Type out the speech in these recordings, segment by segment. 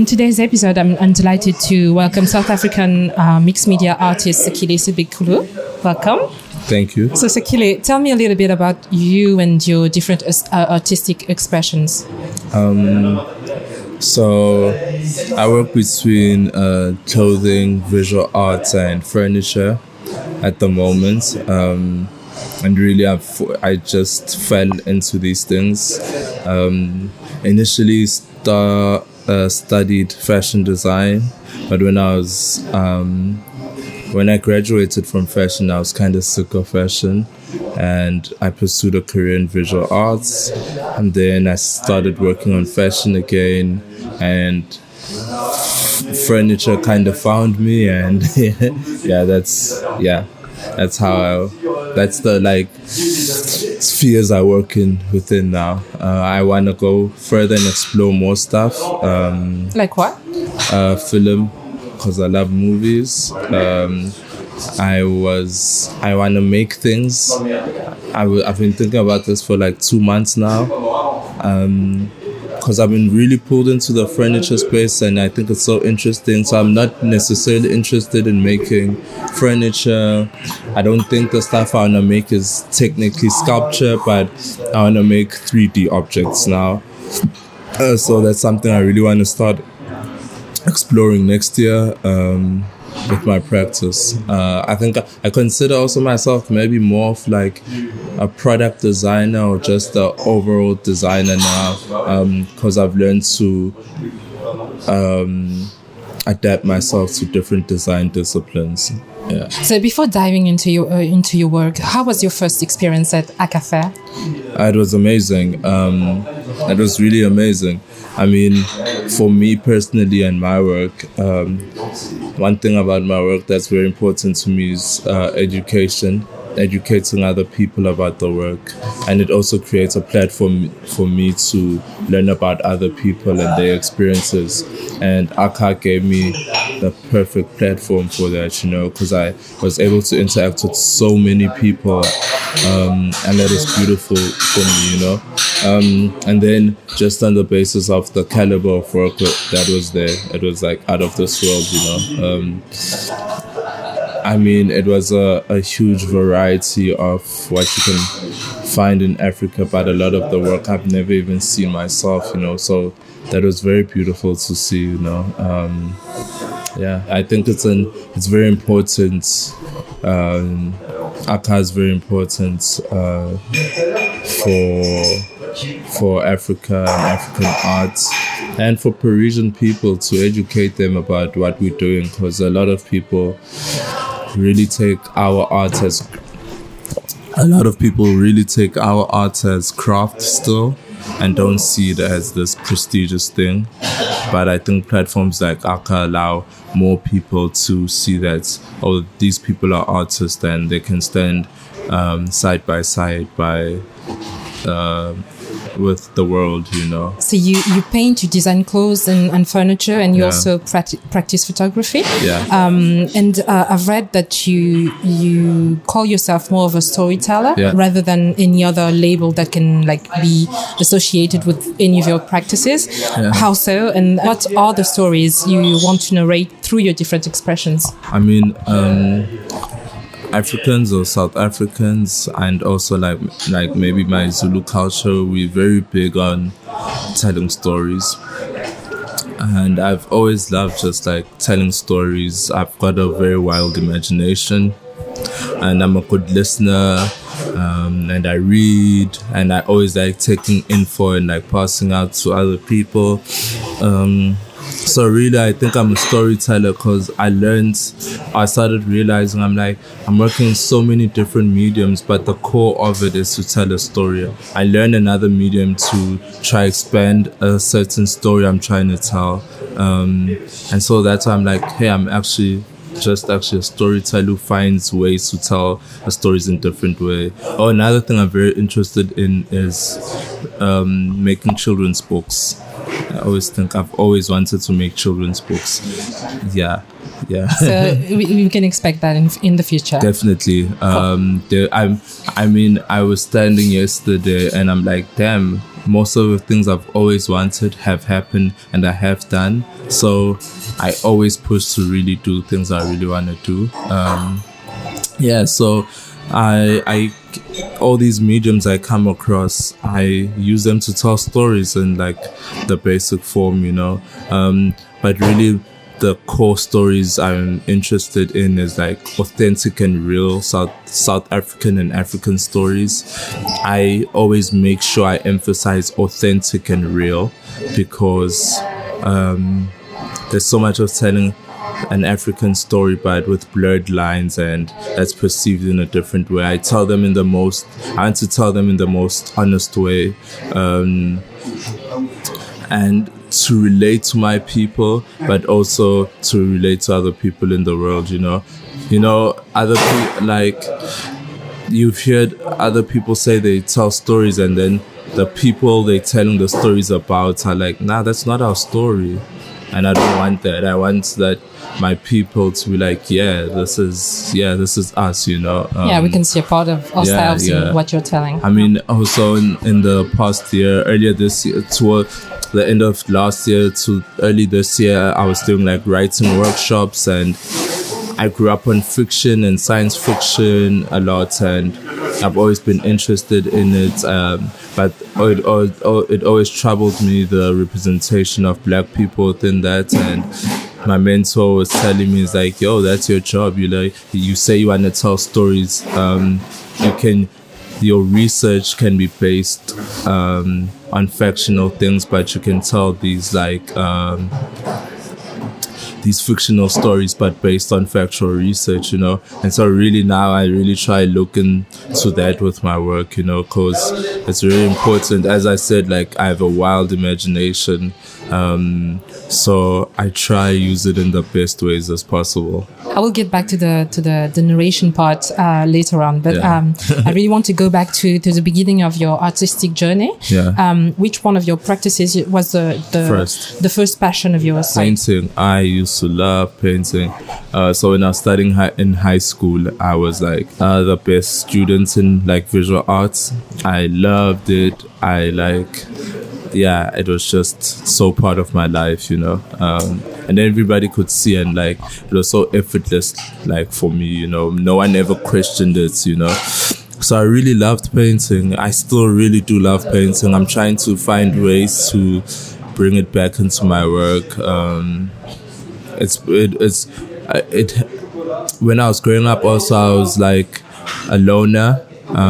today's episode, I'm delighted to welcome South African mixed media artist Sekile Sibikulu. Welcome. Thank you. So Sekile, tell me a little bit about you and your different artistic expressions. So I work between clothing, visual arts, and furniture at the moment. And really, I just fell into these things. Initially, studied fashion design, but when I graduated from fashion, I was kind of sick of fashion, and I pursued a career in visual arts. And then I started working on fashion again, and furniture kind of found me, and that's the spheres I work within now. I want to go further and explore more stuff. Like what? Film, because I love movies. I want to make things. I've been thinking about this for 2 months now. Because I've been really pulled into the furniture space, and I think it's so interesting. So I'm not necessarily interested in making furniture. I don't think the stuff I want to make is technically sculpture, but I want to make 3D objects now. So that's something I really want to start exploring next year with my practice. I think I consider also myself maybe more of a product designer or just an overall designer now, because I've learned to adapt myself to different design disciplines. Yeah. So before diving into your work, how was your first experience at Akafair? It was amazing. It was really amazing. I mean, for me personally and my work, one thing about my work that's very important to me is educating other people about the work. And it also creates a platform for me to learn about other people and their experiences. And Aka gave me the perfect platform for that, because I was able to interact with so many people, and that is beautiful for me, and then just on the basis of the caliber of work that was there, it was out of this world, I mean, it was a huge variety of what you can find in Africa, but a lot of the work I've never even seen myself, so that was very beautiful to see, I think it's very important. Aka is very important for Africa and African arts, and for Parisian people to educate them about what we're doing, because a lot of people really take our art as craft still, and don't see it as this prestigious thing. But I think platforms like Aka allow more people to see that, these people are artists, and they can stand side by side with the world, So you paint, you design clothes and furniture, and you also practice photography. Yeah. And I've read that you call yourself more of a storyteller rather than any other label that can be associated with any of your practices. Yeah. How so? And what are the stories you want to narrate through your different expressions? I mean, Africans or South Africans, and also maybe my Zulu culture, we're very big on telling stories. And I've always loved just telling stories. I've got a very wild imagination, and I'm a good listener, and I read, and I always taking info and passing out to other people. So really, I think I'm a storyteller, because I started realizing I'm working in so many different mediums, but the core of it is to tell a story. I learned another medium to try expand a certain story I'm trying to tell. And so that's why I'm hey, I'm actually a storyteller who finds ways to tell the stories in different way. Oh, another thing I'm very interested in is making children's books. I've always wanted to make children's books. Yeah. So we can expect that in the future. Definitely. I was standing yesterday and I'm damn, most of the things I've always wanted have happened and I have done. So I always push to really do things I really want to do. So I all these mediums I come across, I use them to tell stories in like the basic form, you know. But really the core stories I'm interested in is like authentic and real South African and African stories. I always make sure I emphasize authentic and real because there's so much of telling an African story, but with blurred lines, and that's perceived in a different way. I want to tell them in the most honest way, and to relate to my people, but also to relate to other people in the world, you know, other people, like, you've heard other people say they tell stories and then the people they're telling the stories about are like, nah, that's not our story. And I don't want that. I want that my people to be like, this is us, you know. We can see a part of ourselves in what you're telling. I mean, also in the past year, earlier this year, toward the end of last year to early this year, I was doing like writing workshops, and I grew up on fiction and science fiction a lot, and I've always been interested in it. But it always troubled me, the representation of Black people within that. And my mentor was telling me, it's like, yo, that's your job. You say you want to tell stories. Your research can be based on factional things, but you can tell these fictional stories, but based on factual research, you know. And so really now I really try looking to that with my work, you know, because it's really important. As I said, like, I have a wild imagination, so I try use it in the best ways as possible. I will get back to the narration part later on, but I really want to go back to the beginning of your artistic journey. Which one of your practices was the first passion of yours? Painting. I used to love painting. So when I was studying in high school, I was like the best student in like visual arts. I loved it. It was just so part of my life, you know. And everybody could see, and like it was so effortless, like for me, you know. No one ever questioned it, you know. So I really loved painting. I still really do love painting. I'm trying to find ways to bring it back into my work. When I was growing up, also I was like a loner,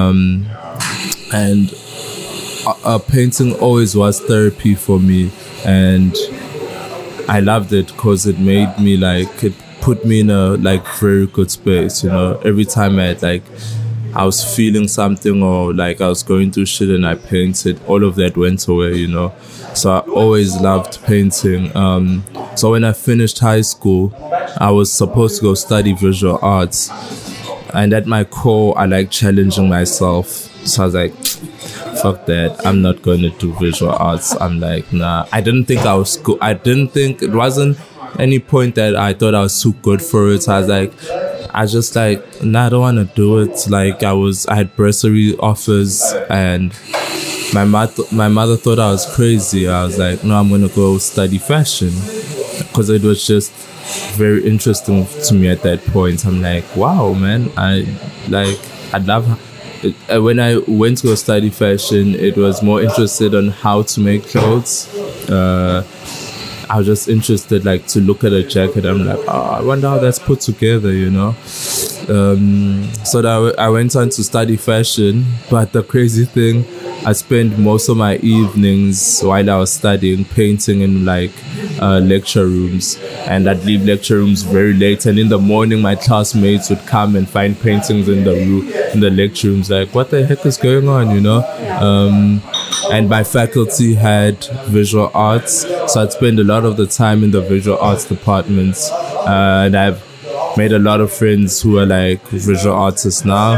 and painting always was therapy for me, and I loved it because it made me it put me in a like very good space, you know. Every time I was feeling something, or like I was going through shit and I painted, all of that went away, you know. So I always loved painting. So when I finished high school, I was supposed to go study visual arts, and at my core I like challenging myself. So I was like, fuck that, I'm not going to do visual arts. I'm like, nah. I didn't think I was good. It wasn't any point that I thought I was too good for it. So I was like, I don't want to do it. Like I had bursary offers, and my mother thought I was crazy. I was like, no, I'm going to go study fashion, because it was just very interesting to me at that point. I'm like, wow, man, I love it. When I went to go study fashion, it was more interested on how to make clothes. I was just interested to look at a jacket. I'm like, I wonder how that's put together, you know. So that I went on to study fashion, but the crazy thing, I spent most of my evenings while I was studying painting in lecture rooms, and I'd leave lecture rooms very late, and in the morning my classmates would come and find paintings in the lecture rooms. Like, what the heck is going on, you know? And my faculty had visual arts, so I'd spend a lot of the time in the visual arts departments, and I've made a lot of friends who are visual artists now.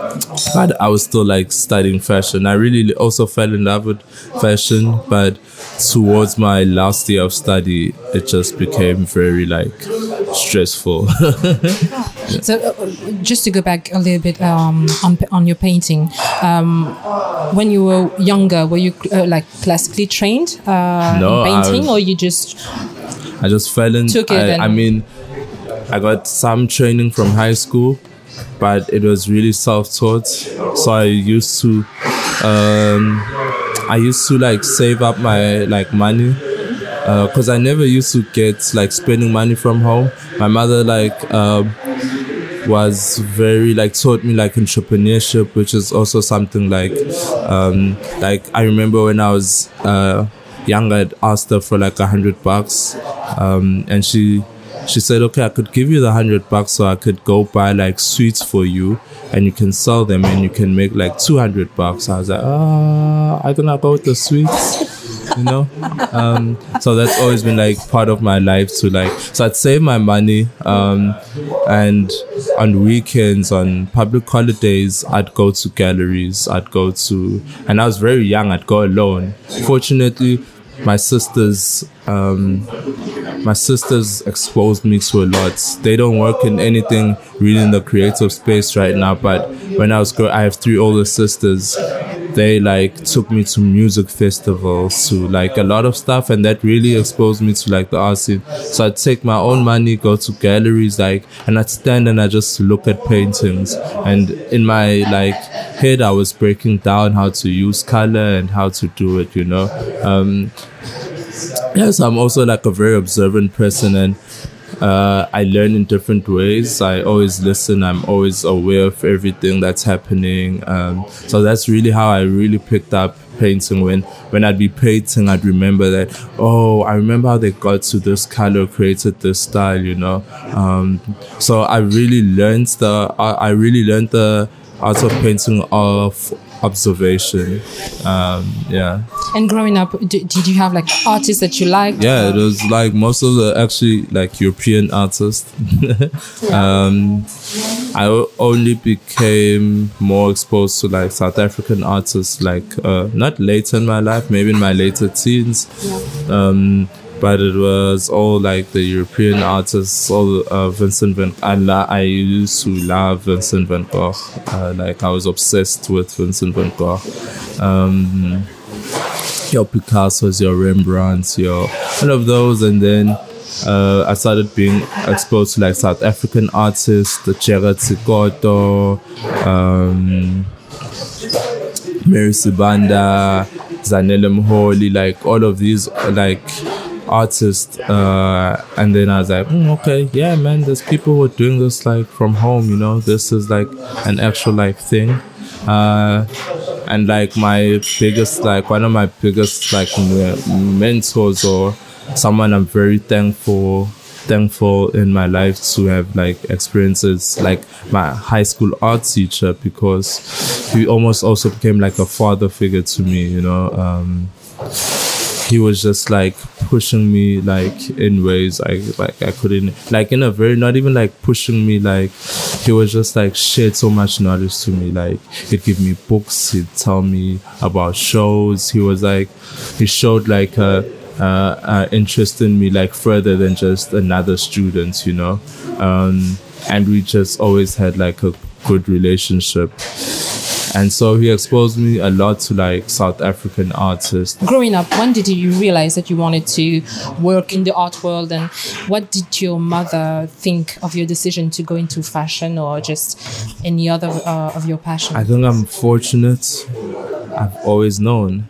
but I was still like studying fashion. I really also fell in love with fashion, but towards my last year of study, it just became very like stressful. Yeah. So just to go back a little bit on your painting, when you were younger, were you like classically trained in painting, or you just? I just fell in. I mean, I got some training from high school, but it was really self-taught. So I used to like save up my like money, because I never used to get like spending money from home. My mother was very like taught me like entrepreneurship, which is also something like I remember when I was young, I'd asked her for like $100, and she said, okay, I could give you the $100 so I could go buy like sweets for you and you can sell them and you can make like $200. I was like, I don't know about the sweets, you know? So that's always been like part of my life to like, so I'd save my money, and on weekends, on public holidays, I'd go to galleries, and I was very young, I'd go alone. Fortunately, my sisters exposed me to a lot. They don't work in anything really in the creative space right now, but when I was growing, I have 3 older sisters. They like took me to music festivals, to like a lot of stuff, and that really exposed me to like the art scene. So I'd take my own money, go to galleries, like, and I'd stand and I'd just look at paintings, and in my like head I was breaking down how to use color and how to do it, you know. Yes, I'm also like a very observant person, and I learn in different ways. I always listen. I'm always aware of everything that's happening. So that's really how I really picked up painting. When I'd be painting, I'd remember that, I remember how they got to this color, created this style, you know. So I really learned the art of painting of observation. Yeah. And growing up, did you have like artists that you liked? Yeah, it was like most of the actually like European artists. I only became more exposed to like South African artists like not later in my life, maybe in my later teens. Yeah. But it was all like the European artists, all Vincent van Gogh. I used to love Vincent van Gogh. Like I was obsessed with Vincent van Gogh. Your Picassos, your Rembrandts, all of those. And then I started being exposed to like South African artists, the Gerard Sekoto, Mary Sibanda, Zanele Mholi, like all of these like artists, and then I was like, okay, yeah, man, there's people who are doing this like from home, you know, this is like an actual like thing. And like my biggest, like one of my biggest like mentors, or someone I'm very thankful in my life to have like experiences, like my high school art teacher, because he almost also became like a father figure to me, you know. He was just like pushing me like in ways I couldn't, like in a very, not even like pushing me, like he was just like shared so much knowledge to me. Like he'd give me books, he'd tell me about shows. He showed like interest in me like further than just another student, you know. And we just always had like a good relationship. And so he exposed me a lot to like South African artists. Growing up, when did you realize that you wanted to work in the art world, and what did your mother think of your decision to go into fashion or just any other of your passion? I think I'm fortunate. I've always known.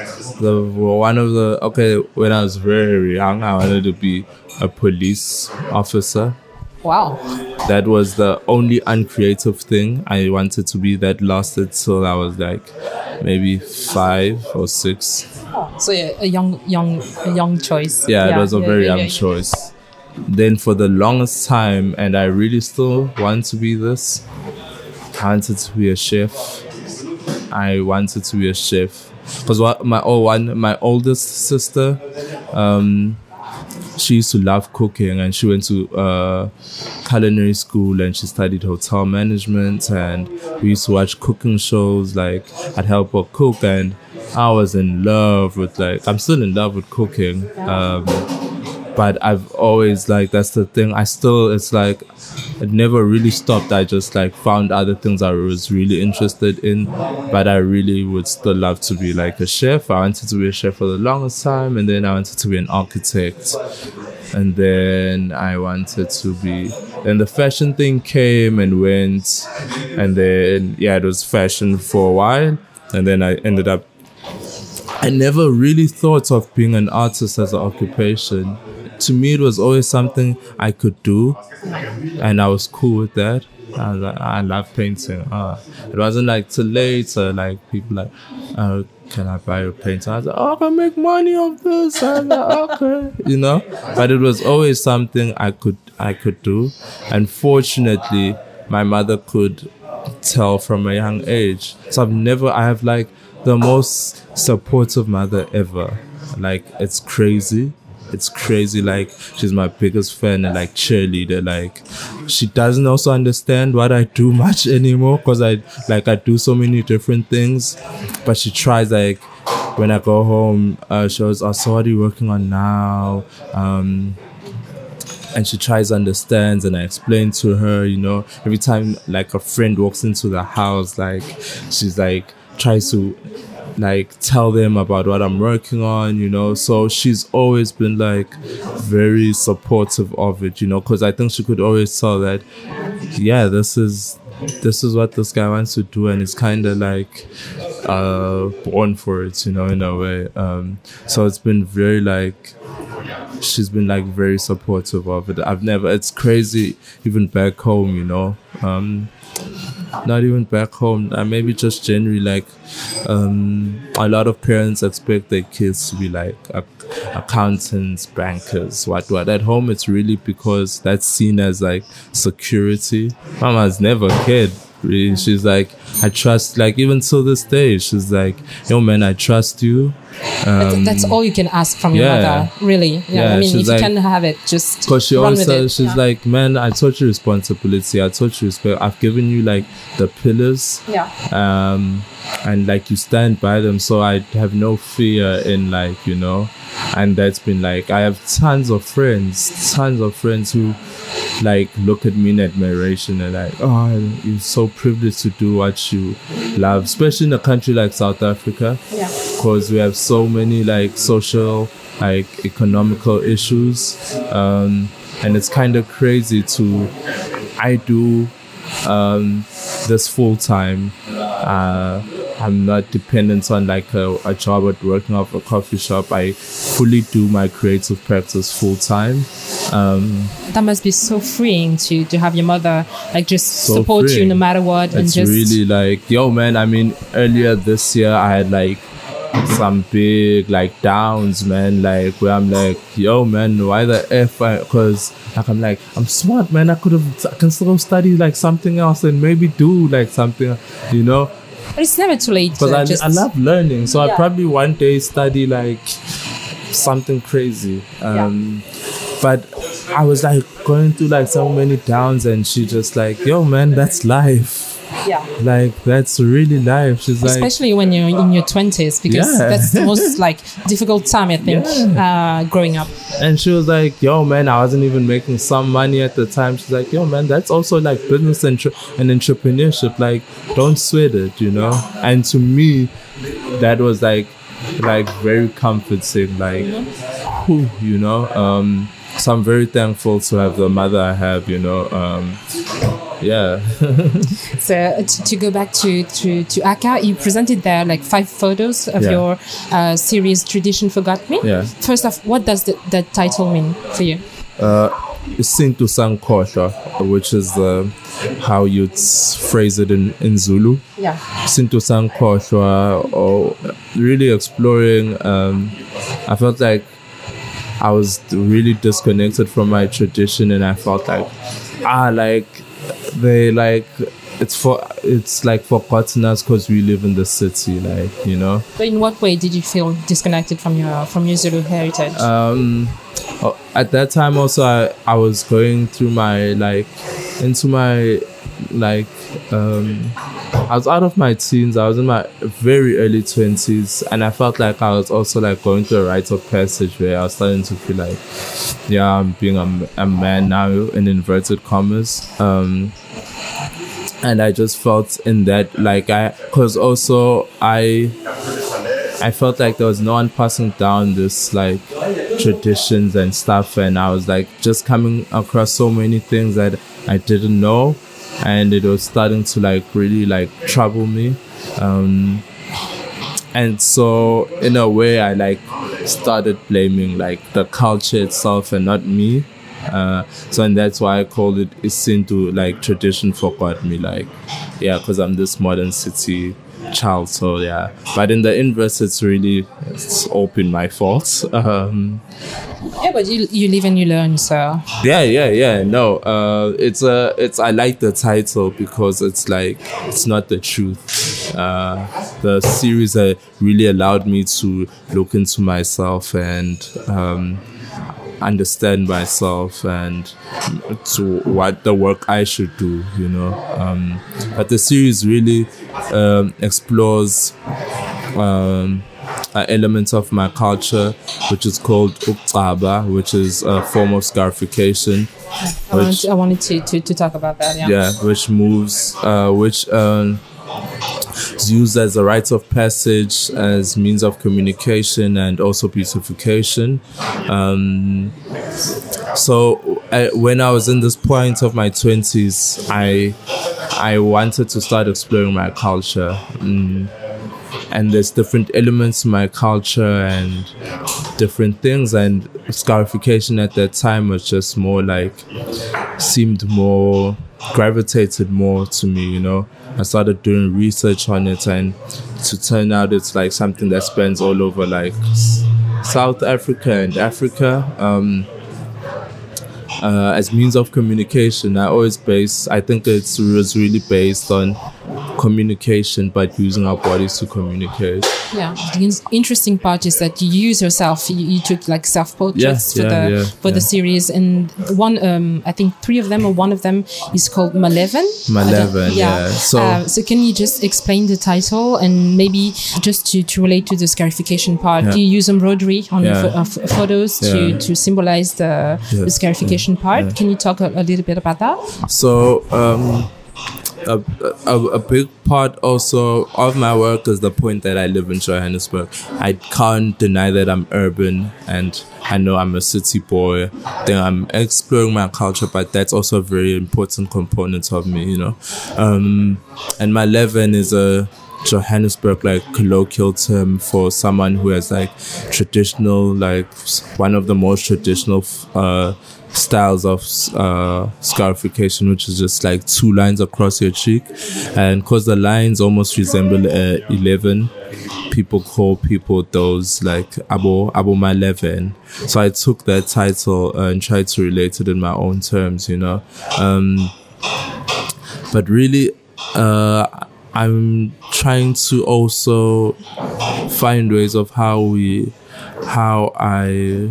When I was very young, I wanted to be a police officer. Wow. That was the only uncreative thing I wanted to be. That lasted till I was like maybe 5 or 6. Oh, so yeah, a young choice. Yeah, it was a very young choice. Then for the longest time, and I really still want to be this, I wanted to be a chef. Because my oldest sister, she used to love cooking, and she went to culinary school, and she studied hotel management, and we used to watch cooking shows. Like, I'd help her cook, and I was in love with, like, I'm still in love with cooking. But I've always, like, that's the thing. It's like, it never really stopped. I just, like, found other things I was really interested in. But I really would still love to be, like, a chef. I wanted to be a chef for the longest time. And then I wanted to be an architect. And then I wanted to be... Then the fashion thing came and went. And then, yeah, it was fashion for a while. And then I ended up... I never really thought of being an artist as an occupation. To me, it was always something I could do, and I was cool with that. I was like, I love painting. It wasn't like till later, like people like, can I buy a painting? I was like, I can make money off this. I was like, okay, you know. But it was always something I could do, and fortunately, my mother could tell from a young age. So I have like the most supportive mother ever. Like, it's crazy. It's crazy. Like, she's my biggest fan and like cheerleader. Like, she doesn't also understand what I do much anymore, because I do so many different things. But she tries, like, when I go home, she goes, oh, so what are you working on now? And she tries to understand, and I explain to her, you know, every time like a friend walks into the house, like, she's like tries to like tell them about what I'm working on, you know. So she's always been like very supportive of it, you know, because I think she could always tell that, yeah, this is what this guy wants to do, and it's kind of like born for it, you know, in a way. So it's been very like, she's been like very supportive of it. It's crazy, even back home, you know. Not even back home, maybe just generally, like, a lot of parents expect their kids to be like accountants, bankers, what. At home, it's really because that's seen as like security. Mama's never cared, really. She's like, I trust, like, even till this day, she's like, yo man, I trust you. That's all you can ask from your mother, really. Yeah, I mean, if like, you can have it, just because she run with it. She's like, man, I taught you responsibility, I taught you respect, I've given you like the pillars, and like you stand by them, so I have no fear in, like, you know. And that's been like, I have tons of friends who like look at me in admiration and like, oh, you're so privileged to do what you love, especially in a country like South Africa, because we have so many like social, like economical issues, and it's kind of crazy I do this full time. I'm not dependent on like a job at working off a coffee shop. I fully do my creative practice full time. That must be so freeing to have your mother like just so support freeing. You no matter what. It's and just really like, yo man, I mean, earlier this year I had like some big like downs, man, like where I'm like, yo man, why the F? Because like I'm like, I'm smart, man, I can still study like something else and maybe do like something, you know. But it's never too late. Because I love learning, so I'll probably one day study like something crazy. But I was like going through like so many downs, and she just like, yo man, that's life. Yeah, like that's really life. She's like, especially when you're in your 20s, because that's the most like difficult time, I think, growing up. And she was like, yo man, I wasn't even making some money at the time. She's like, yo man, that's also like business and entrepreneurship, like don't sweat it, you know. And to me that was like very comforting, like you know. So I'm very thankful to have the mother I have, you know. So to go back to Aka, you presented there like 5 photos of your series Tradition Forgot Me. Yeah. First off, what does the title mean for you? Sintu Sankhohlwa, which is how you'd phrase it in Zulu. Yeah. Sintu Sankhohlwa, or really exploring. I felt like I was really disconnected from my tradition, and I felt like it's like forgotten us because we live in the city, like, you know. But in what way did you feel disconnected from your Zulu heritage? At that time also I was going through my I was out of my teens. I was in my very early 20s, and I felt like I was also like going through a rite of passage where I was starting to feel like, yeah, I'm being a man now, in inverted commas. And I just felt in that, because also I felt like there was no one passing down this like traditions and stuff, and I was like just coming across so many things that I didn't know, and it was starting to like really like trouble me. And so in a way I like started blaming like the culture itself and not me. And that's why I called it Isintu, like tradition forgot me, like, yeah, because I'm this modern city child, so yeah. But in the inverse, it's all been my fault. Yeah, but you live and you learn, so yeah. No, I like the title because it's like it's not the truth. The series really allowed me to look into myself and understand myself and to what the work I should do, you know. But the series really explores elements of my culture, which is called Ukcaba, which is a form of scarification. I wanted to talk about that, yeah. Yeah, which is used as a rite of passage, as means of communication and also beautification. So when I was in this point of my 20s, I wanted to start exploring my culture. And there's different elements to my culture and different things, and scarification at that time was just more like, gravitated more to me, you know. I started doing research on it, and to turn out it's like something that spans all over like South Africa and Africa. As means of communication, I think it was really based on communication, but using our bodies to communicate. Yeah, the interesting part is that you use yourself. You took like self-portraits for the series, and one, I think 3 of them or one of them is called Maleven. Maleven, yeah. So can you just explain the title and maybe just to relate to the scarification part? Yeah. Do you use embroidery on photos to symbolize the scarification part? Yeah. Can you talk a little bit about that? So a big part also of my work is the point that I live in Johannesburg. I can't deny that I'm urban and I know I'm a city boy. Then I'm exploring my culture, but that's also a very important component of me, you know. And Maleven is a Johannesburg like colloquial term for someone who has like traditional, like one of the most traditional styles of scarification, which is just like 2 lines across your cheek, and because the lines almost resemble 11, people call people those like Abo Maleven. So I took that title and tried to relate it in my own terms, you know. But really I'm trying to also find ways of how I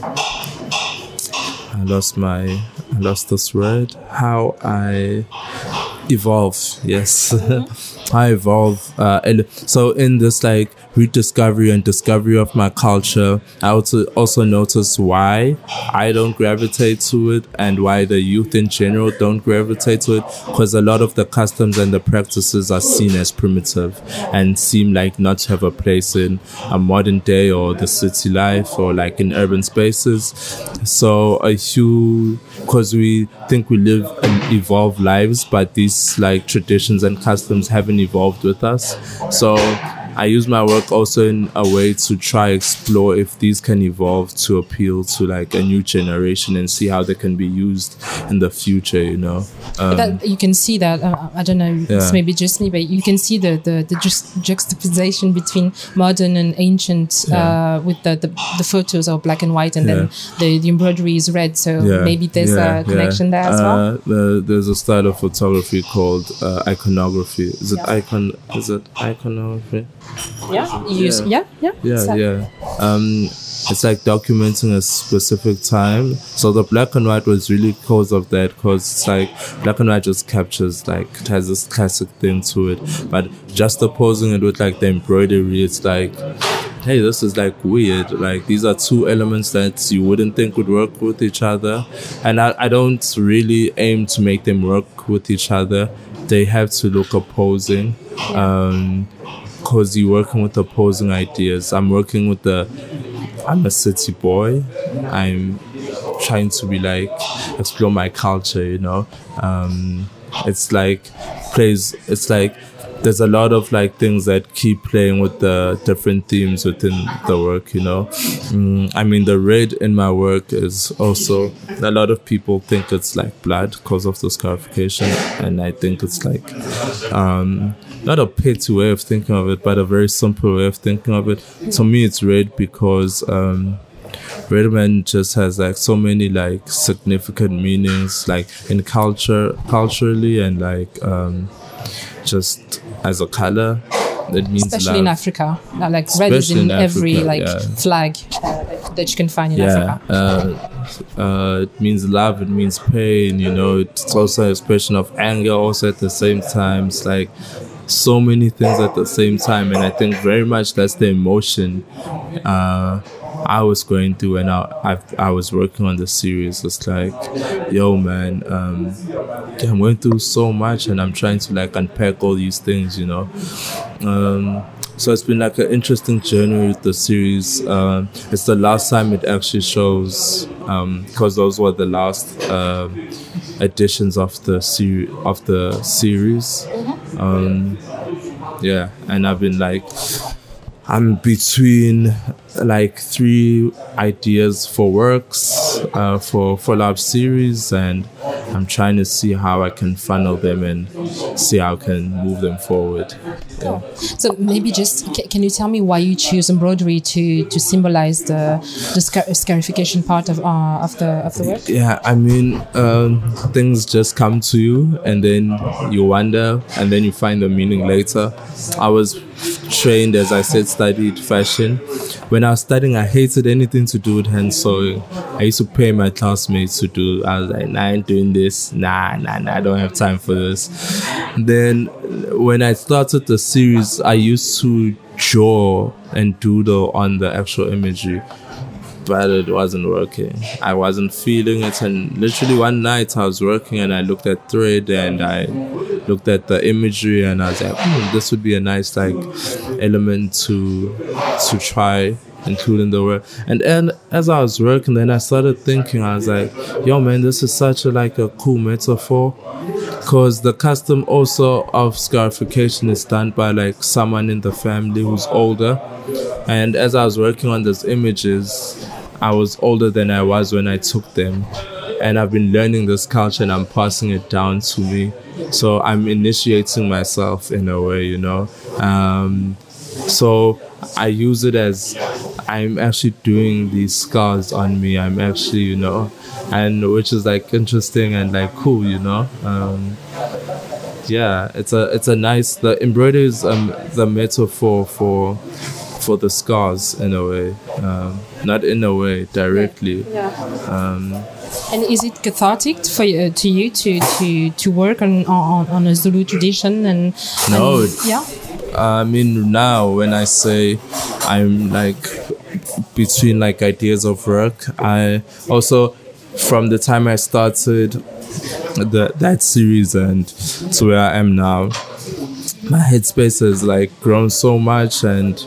evolve. Yes. I evolve. So in this like rediscovery and discovery of my culture, I also notice why I don't gravitate to it and why the youth in general don't gravitate to it, because a lot of the customs and the practices are seen as primitive and seem like not to have a place in a modern day or the city life or like in urban spaces. So because we think we live and evolve lives, but these like traditions and customs haven't evolved with us. So I use my work also in a way to try explore if these can evolve to appeal to like a new generation and see how they can be used in the future, you know. That you can see that, I don't know, it's maybe just me, but you can see the juxtaposition between modern and ancient with the photos are black and white, and then the embroidery is red, so maybe there's a connection there as well. There's a style of photography called iconography. Is it iconography? It's like documenting a specific time. So the black and white was really because of that, because it's like black and white just captures, like, it has this classic thing to it. But just opposing it with like the embroidery, it's like, hey, this is like weird. Like, these are two elements that you wouldn't think would work with each other. And I don't really aim to make them work with each other. They have to look opposing. Because you're working with opposing ideas. I'm a city boy. I'm trying to be like, explore my culture, you know. It's like there's a lot of like things that keep playing with the different themes within the work, you know. I mean, the red in my work is also, a lot of people think it's like blood because of the scarification, and I think it's like not a petty way of thinking of it, but a very simple way of thinking of it. To me, it's red because Red Man just has like so many like significant meanings, like in culturally, and like just as a color. It means especially love. In Africa, like red is in every flag that you can find in Africa. It means love, it means pain, you know. It's also an expression of anger also at the same time. It's like so many things at the same time, and I think very much that's the emotion I was going through when I was working on the series. It's like, yo man, I'm going through so much, and I'm trying to like unpack all these things, you know. So it's been like an interesting journey with the series. It's the last time it actually shows, because those were the last editions of the series. And I've been like, I'm between like 3 ideas for works, for follow-up series, and I'm trying to see how I can funnel them and see how I can move them forward. Yeah. So maybe just can you tell me why you choose embroidery to symbolize the scarification part of the work? Yeah, I mean, things just come to you, and then you wonder, and then you find the meaning later. I was trained, as I said, studied fashion. When I was studying, I hated anything to do with hand sewing. I used to pay my classmates to do. I was like, nah, I ain't doing this. Nah, I don't have time for this. Then when I started the series, I used to draw and doodle on the actual imagery, but it wasn't working. I wasn't feeling it, and literally one night I was working and I looked at thread and I looked at the imagery and I was like, this would be a nice like element to try include in the work. And as I was working, then I started thinking, I was like, yo man, this is such a cool metaphor, because the custom also of scarification is done by like someone in the family who's older. And as I was working on those images, I was older than I was when I took them, and I've been learning this culture and I'm passing it down to me. So I'm initiating myself in a way, you know. So I use it as I'm actually doing these scars on me. I'm actually, you know, and which is like interesting and like cool, you know. It's a nice, the embroidery is the metaphor for the scars in a way, not in a way directly. And is it cathartic for you, to work on a Zulu tradition No. I mean, now when I say I'm like between like ideas of work, I also, from the time I started that series and to where I am now, my headspace has like grown so much, and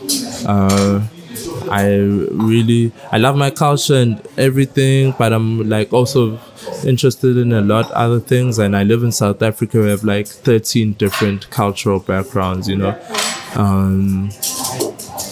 I love my culture and everything, but I'm like also interested in a lot other things. And I live in South Africa. We have like 13 different cultural backgrounds, you know.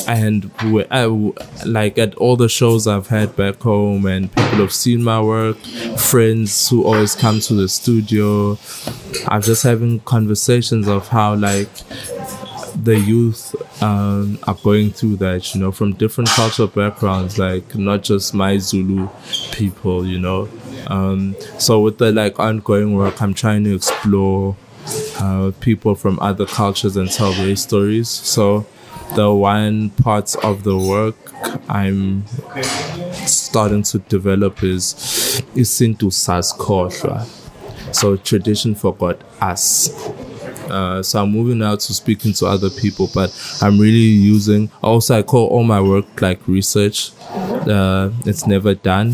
and like at all the shows I've had back home, and people have seen my work, friends who always come to the studio, I'm just having conversations of how like the youth are going through that, you know, from different cultural backgrounds, like not just my Zulu people, you know. So with the like ongoing work, I'm trying to explore people from other cultures and tell their stories. So the one part of the work I'm starting to develop is Isintu Saskhohlwa. So tradition forgot us. So I'm moving out to speaking to other people, but I'm really using, also I call all my work like research. It's never done.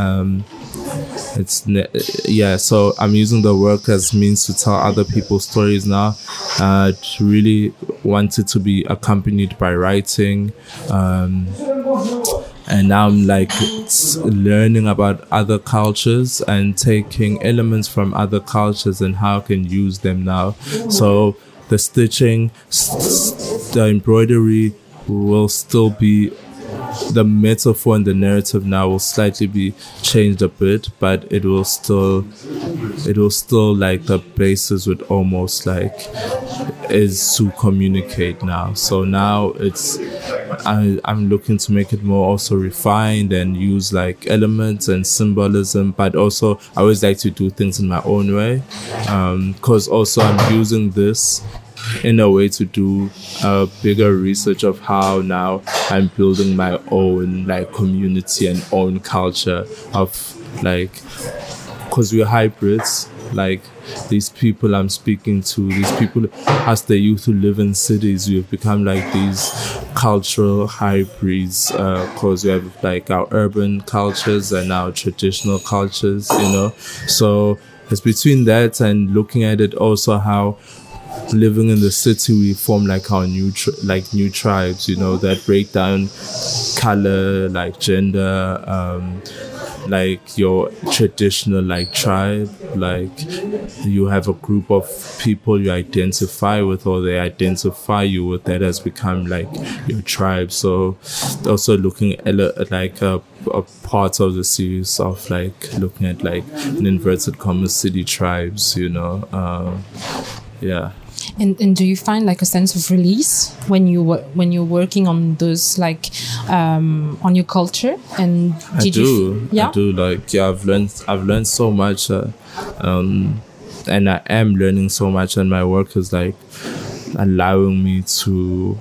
So I'm using the work as means to tell other people's stories now. To really want it to be accompanied by writing. And now I'm like learning about other cultures and taking elements from other cultures and how I can use them now. So the stitching, the embroidery will still be, the metaphor and the narrative now will slightly be changed a bit, but it will still like the basis would almost like is to communicate now. So now I'm looking to make it more also refined and use like elements and symbolism, but also I always like to do things in my own way, because also I'm using this in a way to do a bigger research of how now I'm building my own like community and own culture of like, because we're hybrids, like these people I'm speaking to, these people as the youth who live in cities, we've become like these cultural hybrids, because we have like our urban cultures and our traditional cultures, you know. So it's between that and looking at it also how living in the city we form like our new tribes, you know, that break down color, like gender, like your traditional like tribe, like you have a group of people you identify with or they identify you with, that has become like your tribe. So also looking at like a part of the series of like looking at like in inverted commas city tribes, you know. Yeah. And do you find like a sense of release when you're working on those like on your culture? And I do. Like, yeah, I've learned so much, and I am learning so much, and my work is like allowing me to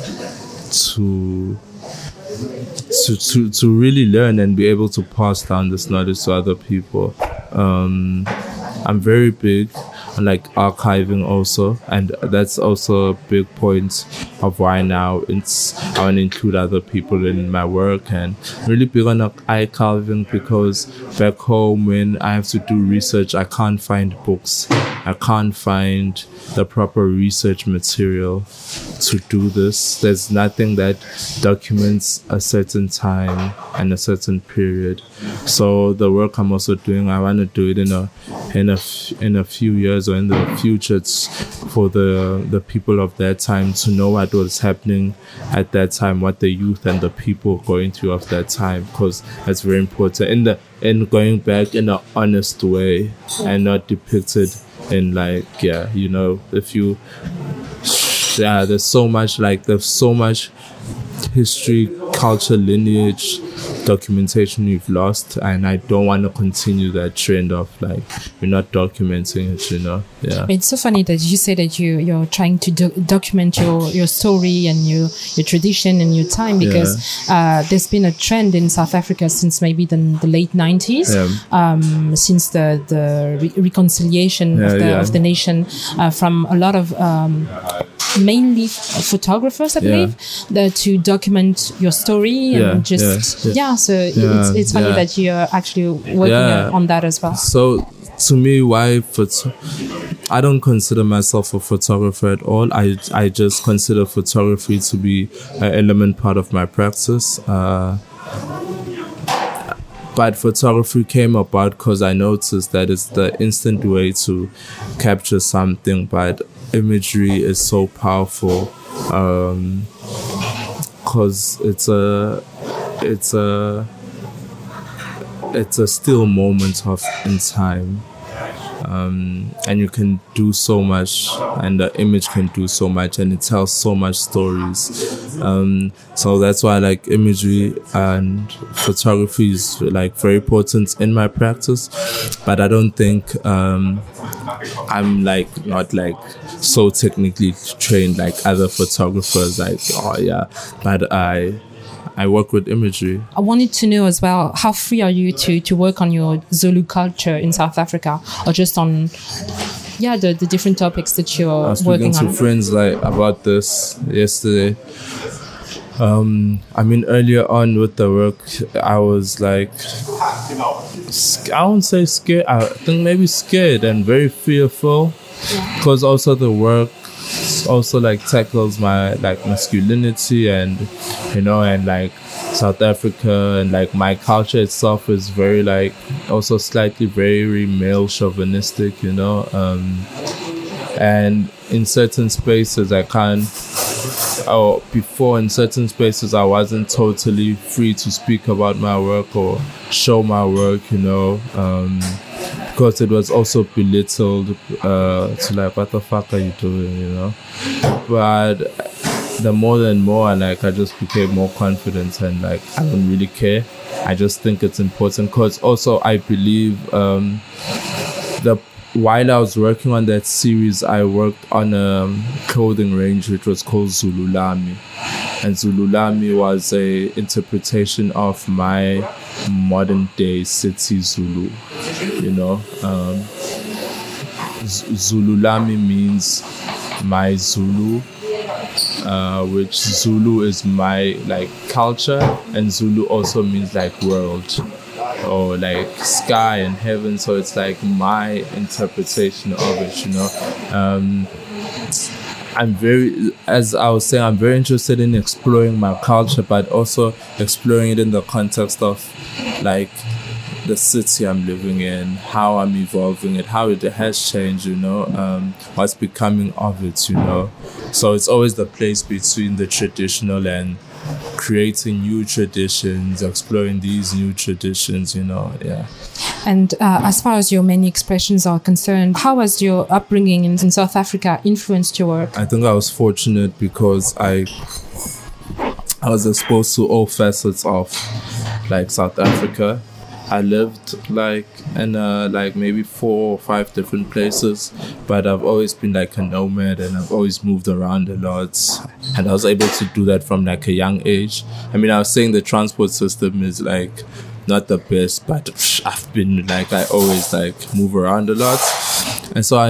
really learn and be able to pass down this knowledge to other people. I'm very big on like archiving also, and that's also a big point of why now I want to include other people in my work, and really big on archiving because back home when I have to do research, I can't find books, I can't find the proper research material to do this. There's nothing that documents a certain time and a certain period. So the work I'm also doing, I want to do it in a few years or in the future for the people of that time to know what was happening at that time, what the youth and the people were going through of that time, because that's very important in going back in an honest way and not depicted in like, yeah, you know, if you, yeah, there's so much history, culture, lineage, documentation we've lost, and I don't want to continue that trend of like we're not documenting it, you know. Yeah, it's so funny that you say that you're trying to document your story and your tradition and your time, because there's been a trend in South Africa since maybe the late 90s, since the reconciliation of the nation, from a lot of mainly photographers, I believe, to document your story and so it's funny that you're actually working on that as well. So to me, I don't consider myself a photographer at all. I just consider photography to be an element part of my practice. But photography came about because I noticed that it's the instant way to capture something, but imagery is so powerful, because it's a still moment in time. And you can do so much, and the image can do so much, and it tells so much stories. So that's why I like imagery, and photography is like very important in my practice. But I don't think I'm like not like so technically trained like other photographers. Like, oh yeah, but I work with imagery. I wanted to know as well, how free are you to work on your Zulu culture in South Africa, or just on the different topics that you're working on? I was speaking to friends like about this yesterday. I mean, earlier on with the work, I was like, I won't say scared. I think maybe scared and very fearful, because also the work also like tackles my like masculinity, and and like South Africa, and like my culture itself is very like also slightly very male chauvinistic, and in certain spaces I can't, or before in certain spaces I wasn't totally free to speak about my work or show my work, because it was also belittled to like, what the fuck are you doing, But the more and more, like, I just became more confident, and like, I don't really care. I just think it's important, because also I believe while I was working on that series, I worked on a clothing range which was called Zululami. And Zululami was a interpretation of my modern day city Zulu, Zululami means my Zulu, which Zulu is my like culture, and Zulu also means like world, or like sky and heaven. So it's like my interpretation of it, as I was saying, I'm very interested in exploring my culture, but also exploring it in the context of like the city I'm living in, how I'm evolving it, how it has changed, what's becoming of it, So it's always the place between the traditional and creating new traditions, exploring these new traditions, And as far as your many expressions are concerned, how has your upbringing in South Africa influenced your work? I think I was fortunate because I was exposed to all facets of like South Africa. I lived like in like maybe 4 or 5 different places, but I've always been like a nomad, and I've always moved around a lot, and I was able to do that from like a young age. I mean, I was saying the transport system is like not the best, but I've been like, I always like move around a lot, and so I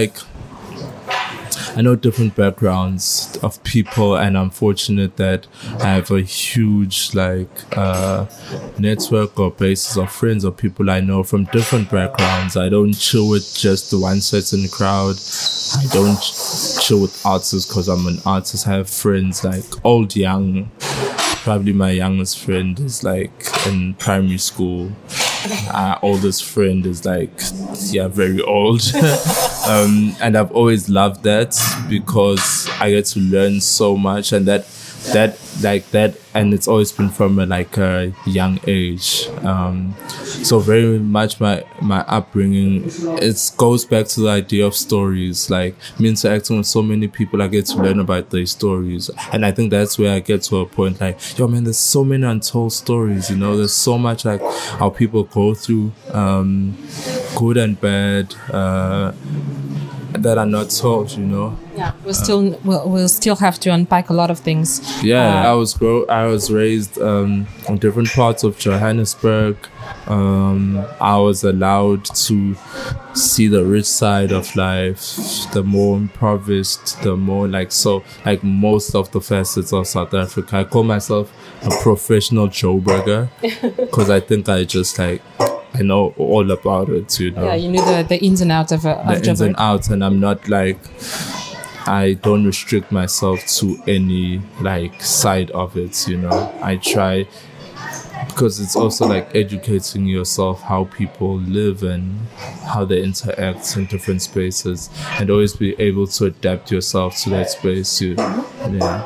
know different backgrounds of people, and I'm fortunate that I have a huge like network or basis of friends or people I know from different backgrounds. I don't chill with just one certain crowd. I don't chill with artists because I'm an artist. I have friends like old, young. Probably my youngest friend is like in primary school. Our oldest friend is like, very old. And I've always loved that because I get to learn so much, and that, and it's always been from a young age. So very much my upbringing, it goes back to the idea of stories. Like me interacting with so many people, I get to learn about their stories, and I think that's where I get to a point like, yo man, there's so many untold stories. There's so much like how people go through, good and bad, that are not told, Yeah, we'll still have to unpack a lot of things. Yeah, I was raised in different parts of Johannesburg. I was allowed to see the rich side of life, the more impoverished, the more most of the facets of South Africa. I call myself a professional Joburger because I think I just I know all about it, Yeah, you knew the ins and outs of the ins and outs, and I'm not I don't restrict myself to any side of it, I try, because it's also educating yourself how people live and how they interact in different spaces, and always be able to adapt yourself to that space. Yeah.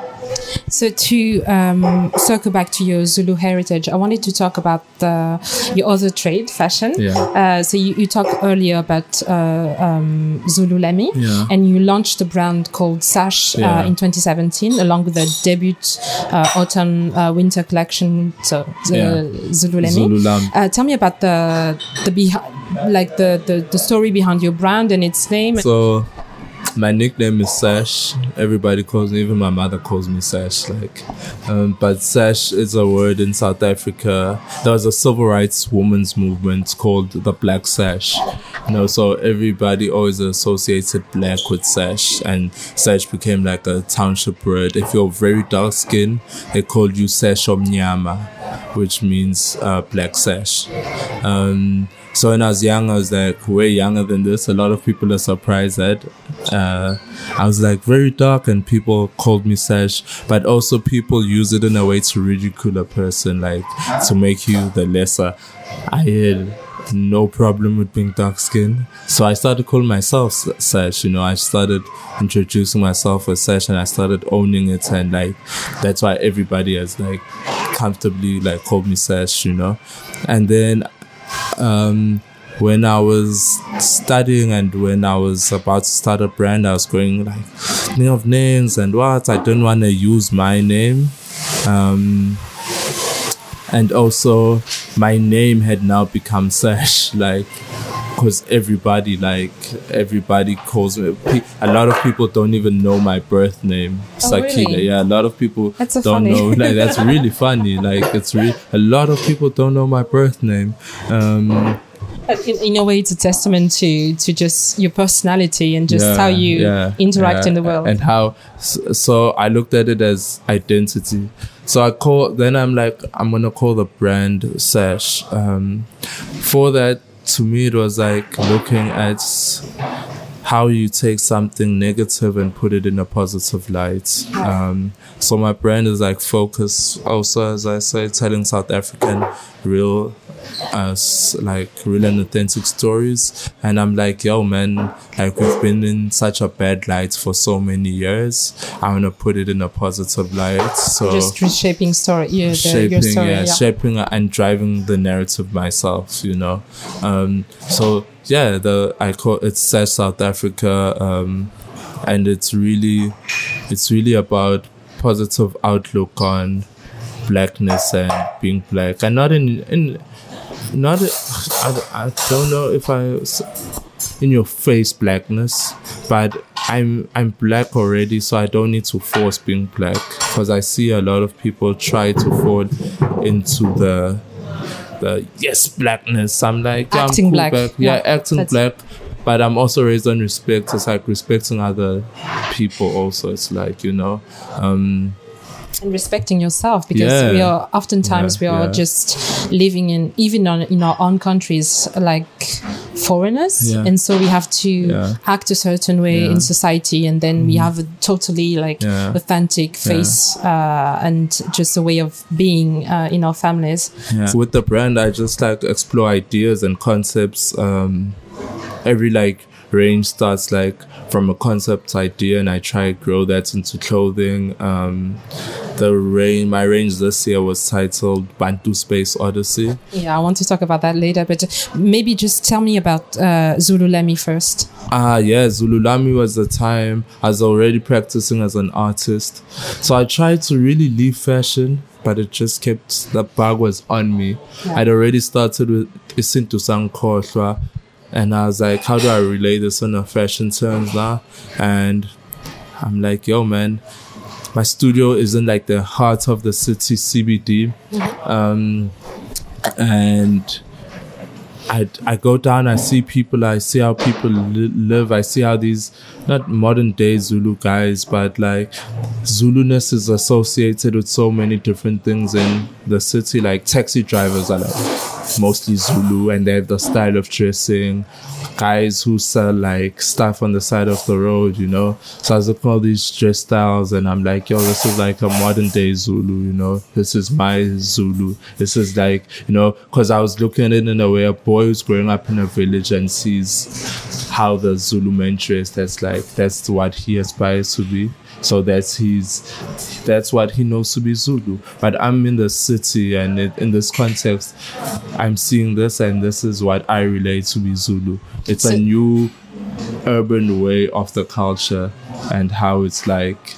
So to circle back to your Zulu heritage, I wanted to talk about your other trade, fashion. Yeah. So you talked earlier about Zululemi, and you launched a brand called Sash in 2017, along with the debut autumn-winter collection, so Zululemi. Tell me about the story behind your brand and its name. So my nickname is Sash. Everybody calls me, even my mother calls me Sash. But Sash is a word in South Africa. There was a civil rights women's movement called the Black Sash. So everybody always associated black with Sash, and Sash became like a township word. If you're very dark skinned, they called you Sash Omnyama, which means black Sash. So when I was young, I was like way younger than this. A lot of people are surprised that I was like very dark and people called me Sash, but also people use it in a way to ridicule a person, like to make you the lesser. I had no problem with being dark skinned, so I started calling myself Sash. I started introducing myself as Sash, and I started owning it, and that's why everybody has comfortably called me Sash. And then when I was studying and when I was about to start a brand, I was going thinking of names and what I didn't want to use my name, and also my name had now become Sash, because everybody calls me. A lot of people don't even know my birth name, Sakile. Really? Yeah, a lot of people don't funny. Know. That's really funny. It's really a lot of people don't know my birth name. In a way, it's a testament to just your personality and just how you interact in the world. And how, so I looked at it as identity. So I'm going to call the brand Sash. For that, to me, it was looking at how you take something negative and put it in a positive light. So my brand is focus also, as I say, telling South African real real and authentic stories. And I'm yo man, we've been in such a bad light for so many years. I want to put it in a positive light. So just reshaping your story. Shaping and driving the narrative myself, So I call it Sash South Africa, and it's really about positive outlook on blackness and being black, and I don't know if in your face blackness, but I'm black already, so I don't need to force being black, because I see a lot of people try to fall into the blackness. I'm acting I'm cool black. Acting black. But I'm also raised on respect. It's respecting other people also. It's and respecting yourself, because we are oftentimes just living in our own countries foreigners, and so we have to act a certain way in society, and then we have a totally authentic face and just a way of being in our families. With the brand, I just explore ideas and concepts. Every range starts from a concept idea, and I try to grow that into clothing. My range this year was titled Bantu Space Odyssey. I want to talk about that later, but maybe just tell me about Zululemi first. Zululemi was the time I was already practicing as an artist, so I tried to really leave fashion, but it just the bug was on me. I'd already started with Isintu Sankhohlwa, and I was how do I relay this in a fashion terms now? And I'm yo man, my studio is in the heart of the city, CBD. And I go down, I see people, I see how people live, I see how these, not modern day Zulu guys, but Zuluness is associated with so many different things in the city. Taxi drivers are mostly Zulu, and they have the style of dressing. Guys who sell stuff on the side of the road, So I was looking at all these dress styles, and I'm yo, this is a modern day Zulu, This is my Zulu. This is because I was looking at it in a way a boy who's growing up in a village and sees how the Zulu men dress. That's what he aspires to be. So that's what he knows to be Zulu. But I'm in the city, and in this context, I'm seeing this, and this is what I relate to be Zulu. It's a new urban way of the culture, and how it's like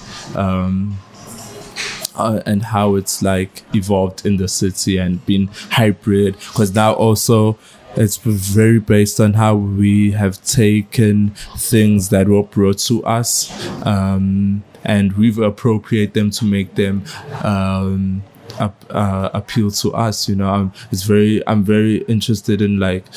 evolved in the city and been hybrid, because now also it's very based on how we have taken things that were brought to us, and we've appropriated them to make them appeal to us. You know, I'm very interested in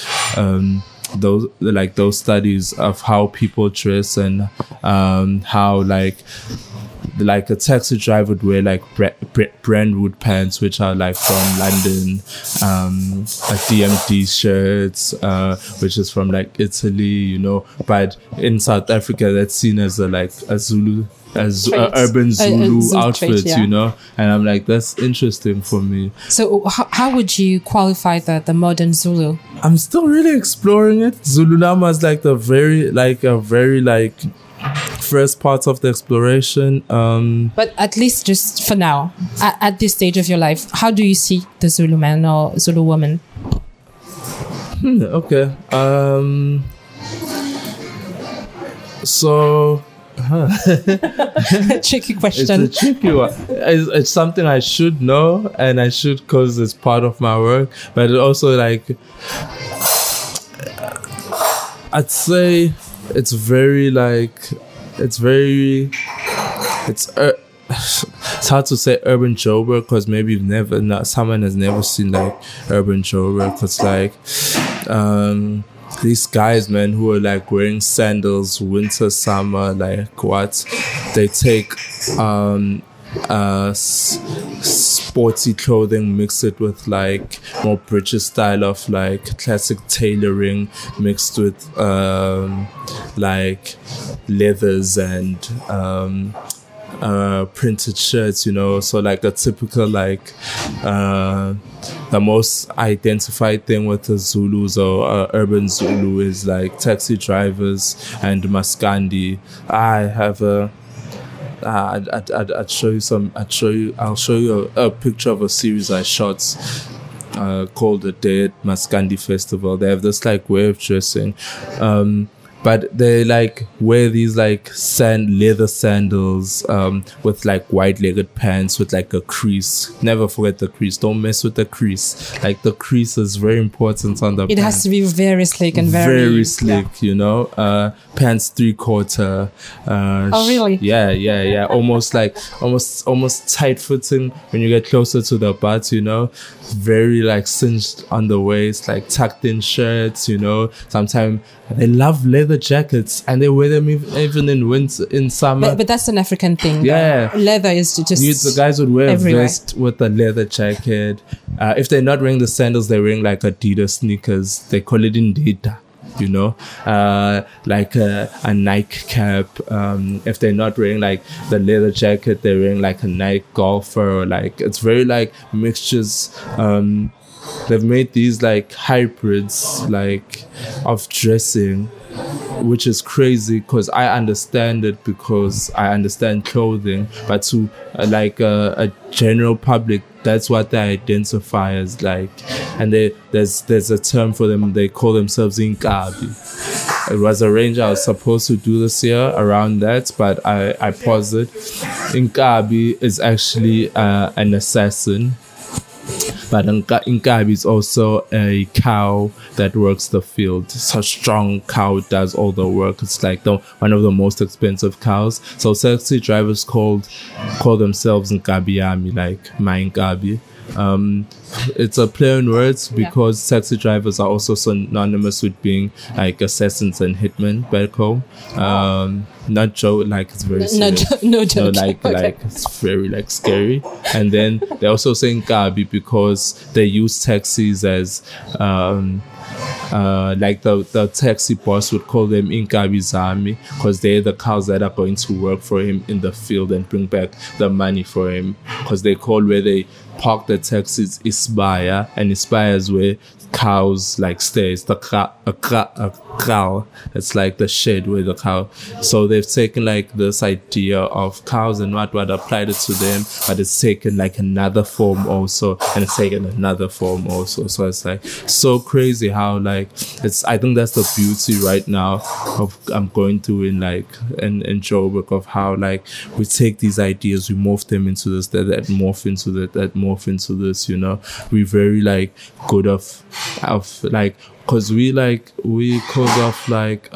those studies of how people dress, and how like a taxi driver would wear like Brandwood pants, which are like from London, a DMD shirts, which is from like Italy, you know. But in South Africa, that's seen as a Zulu, urban Zulu outfit, trait, yeah. You know. And I'm like, that's interesting for me. So how would you qualify the modern Zulu? I'm still really exploring it. Zulunama is like a very first part of the exploration. But at least just for now, at this stage of your life, how do you see the Zulu man or Zulu woman? Okay. So... Tricky question. It's a tricky one. It's something I should know, and I should, because it's part of my work. But it also, like, I'd say it's very it's hard to say urban Joburg, because maybe someone has never seen like urban Joburg, because like these guys, man, who are like wearing sandals winter, summer, like what they take sporty clothing, mix it with like more British style of like classic tailoring, mixed with like leathers and printed shirts, you know. So like a typical like the most identified thing with the Zulus or urban Zulu is like taxi drivers and maskandi. I'll show you a picture of a series I shot called the Dead Maskandi Festival. They have this like way of dressing, but they like wear these like leather sandals with like wide-legged pants with like a crease. Never forget the crease. Don't mess with the crease. Like the crease is very important on the pants. It has to be very slick and very slick, yeah. You know. Pants 3/4. Oh really? Yeah. Almost tight fitting when you get closer to the butt, you know. Very like cinched on the waist, like tucked in shirts, you know. Sometimes they love leather jackets, and they wear them even in winter, in summer. But that's an African thing. Yeah, leather is just the guys would wear everywhere. A vest with a leather jacket. If they're not wearing the sandals, they're wearing like Adidas sneakers. They call it Indita. You know, like a Nike cap. If they're not wearing like the leather jacket, they're wearing like a Nike golfer. Or like it's very like mixtures. They've made these like hybrids like of dressing, which is crazy, because I understand it, because I understand clothing, but to like a general public, that's what they identify as like. And there's a term for them. They call themselves Inkabi. It was arranged. I was supposed to do this year around that, but I paused it. Inkabi is actually an assassin. But Inkabi is also a cow that works the field. It's a strong cow, does all the work. It's like one of the most expensive cows. So taxi drivers call themselves Nkabiyami, like my Nkabi. It's a play on words, because taxi drivers are also synonymous with being like assassins and hitmen back home. Not joke, like it's very serious. No joke. No, like it's very like scary. And then they're also saying Gabi because they use taxis as like the taxi boss would call them Inkabi Zami, because they're the cows that are going to work for him in the field and bring back the money for him, because they call where they park the taxis Isibaya, and Isibaya is where cows like stay. It's the cow. It's like the shed where the cow. So they've taken like this idea of cows and what applied it to them, but it's taken like another form also, and it's taken another form also. So it's like so crazy how like I think that's the beauty right now of I'm going through in Joburg, of how like we take these ideas, we morph them into this, that morph into that morph into this, you know. We're very like good of like, cause we cause of like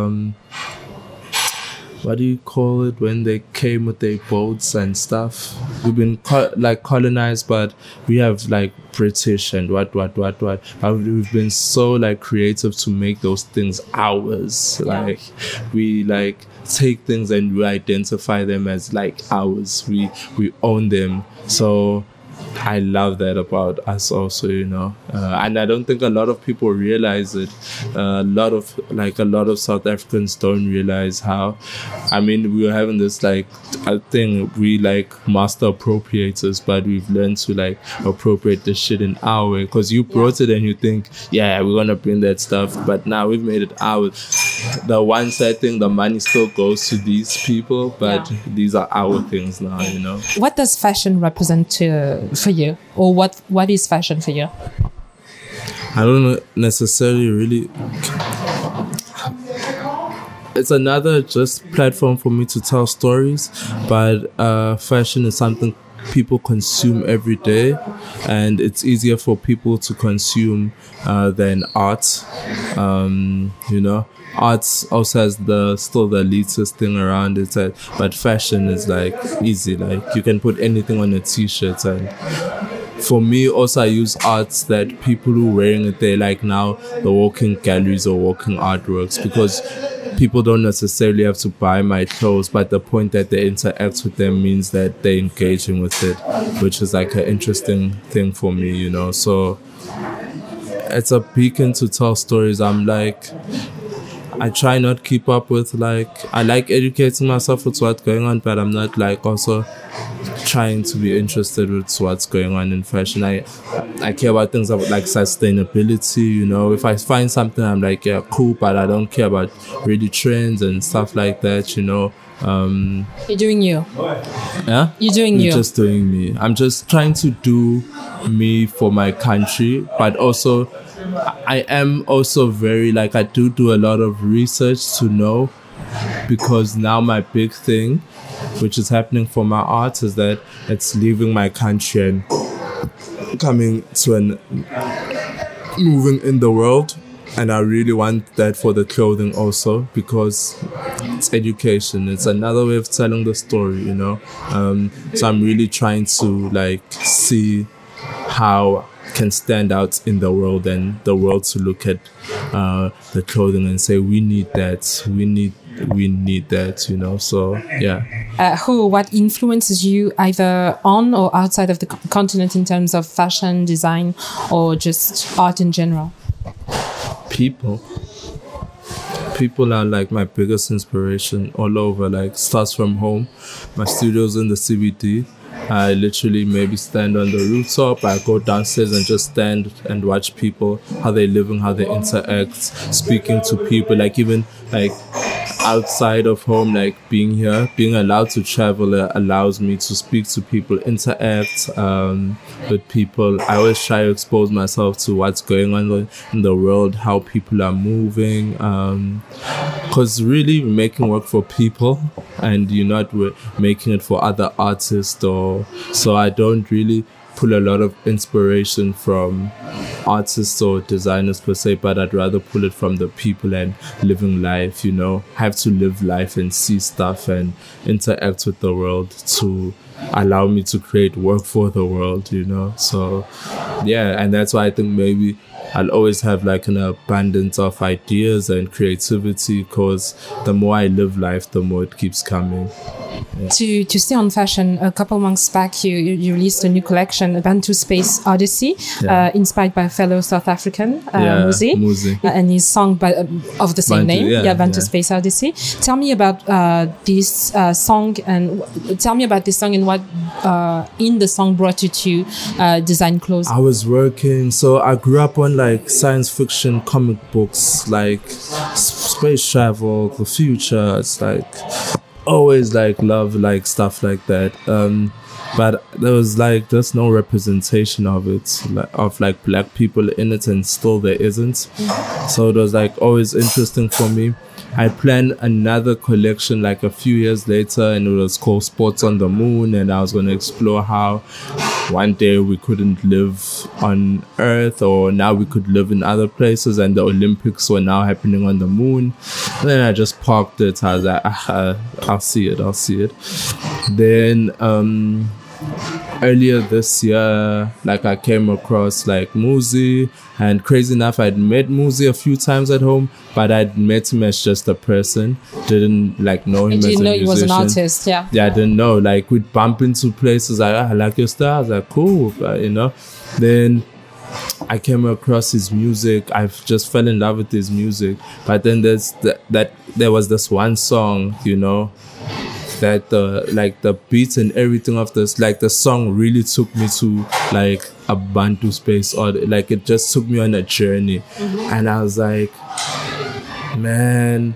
what do you call it when they came with their boats and stuff? We've been colonized, but we have like British and what. We've been so like creative to make those things ours. Like we like take things and we identify them as like ours. We own them. So I love that about us also, you know, and I don't think a lot of people realize it. A lot of South Africans don't realize how. I mean, we were having this like, I think we like master appropriators, but we've learned to like appropriate the shit in our way. Because you brought it and you think, yeah, we're gonna bring that stuff, but now we've made it ours. The one side thing, the money still goes to these people, but these are our things now, you know. What does fashion represent for you, or what is fashion for you? I don't necessarily really. It's another just platform for me to tell stories, but fashion is something people consume every day, and it's easier for people to consume than art. You know, art also has still the elitist thing around it, but fashion is like easy. Like you can put anything on a t-shirt, and for me also I use arts that people who are wearing it, they like now the walking galleries or walking artworks, because people don't necessarily have to buy my clothes, but the point that they interact with them means that they're engaging with it, which is like an interesting thing for me, you know. So it's a beacon to tell stories. I try not keep up with I like educating myself with what's going on, but I'm not like also trying to be interested with what's going on in fashion. I care about things like sustainability, you know. If I find something, I'm like, yeah, cool, but I don't care about really trends and stuff like that, you know. You're doing you. Yeah? You're doing you. Just doing me. I'm just trying to do me for my country, but also I am also very I do a lot of research to know, because now my big thing, which is happening for my art, is that it's leaving my country and coming to moving in the world. And I really want that for the clothing also, because it's education. It's another way of telling the story, you know. So I'm really trying to see how I can stand out in the world, and the world to look at the clothing and say, we need that. We need that, you know. So yeah. What influences you either on or outside of the continent in terms of fashion, design, or just art in general? People are like my biggest inspiration all over. Starts from home. My studio's in the CBD. I literally maybe stand on the rooftop. I go downstairs and just stand and watch people, how they're living, how they interact, speaking to people, even outside of home, being here, being allowed to travel allows me to speak to people, interact with people. I always try to expose myself to what's going on in the world, how people are moving, because really we're making work for people, and you're not making it for other artists. So I don't really pull a lot of inspiration from artists or designers per se, but I'd rather pull it from the people and living life, you know. I have to live life and see stuff and interact with the world to allow me to create work for the world, you know. So yeah, and that's why I think maybe I'll always have an abundance of ideas and creativity, because the more I live life, the more it keeps coming. To stay on fashion, a couple months back, you released a new collection, a Bantu Space Odyssey, inspired by a fellow South African, Muzi, and his song of the same name, Bantu Space Odyssey. Tell me about this song, and tell me about this song and what in the song brought you to design clothes. I was working, so I grew up on like science fiction comic books, like space travel, the future. It's like always like love like stuff like that, but there was like there's no representation of it, of like black people in it, and still there isn't. So it was like always interesting for me. I planned another collection like a few years later, and it was called Sports on the Moon, and I was going to explore how one day we couldn't live on Earth, or now we could live in other places, and the Olympics were now happening on the moon. And then I just parked it. I was like, I'll see it. Then earlier this year, like I came across like Muzi, and crazy enough, I'd met Muzi a few times at home, but I'd met him as just a person. Didn't like know him as a musician. You didn't know he was an artist, yeah. Yeah, I didn't know. Like we'd bump into places like, I like your style. I was like, cool, you know. Then I came across his music. I just fell in love with his music. But then there was this one song, you know, that the beats and everything of this, like the song really took me to like a Bantu space, or like it just took me on a journey. And I was like, man,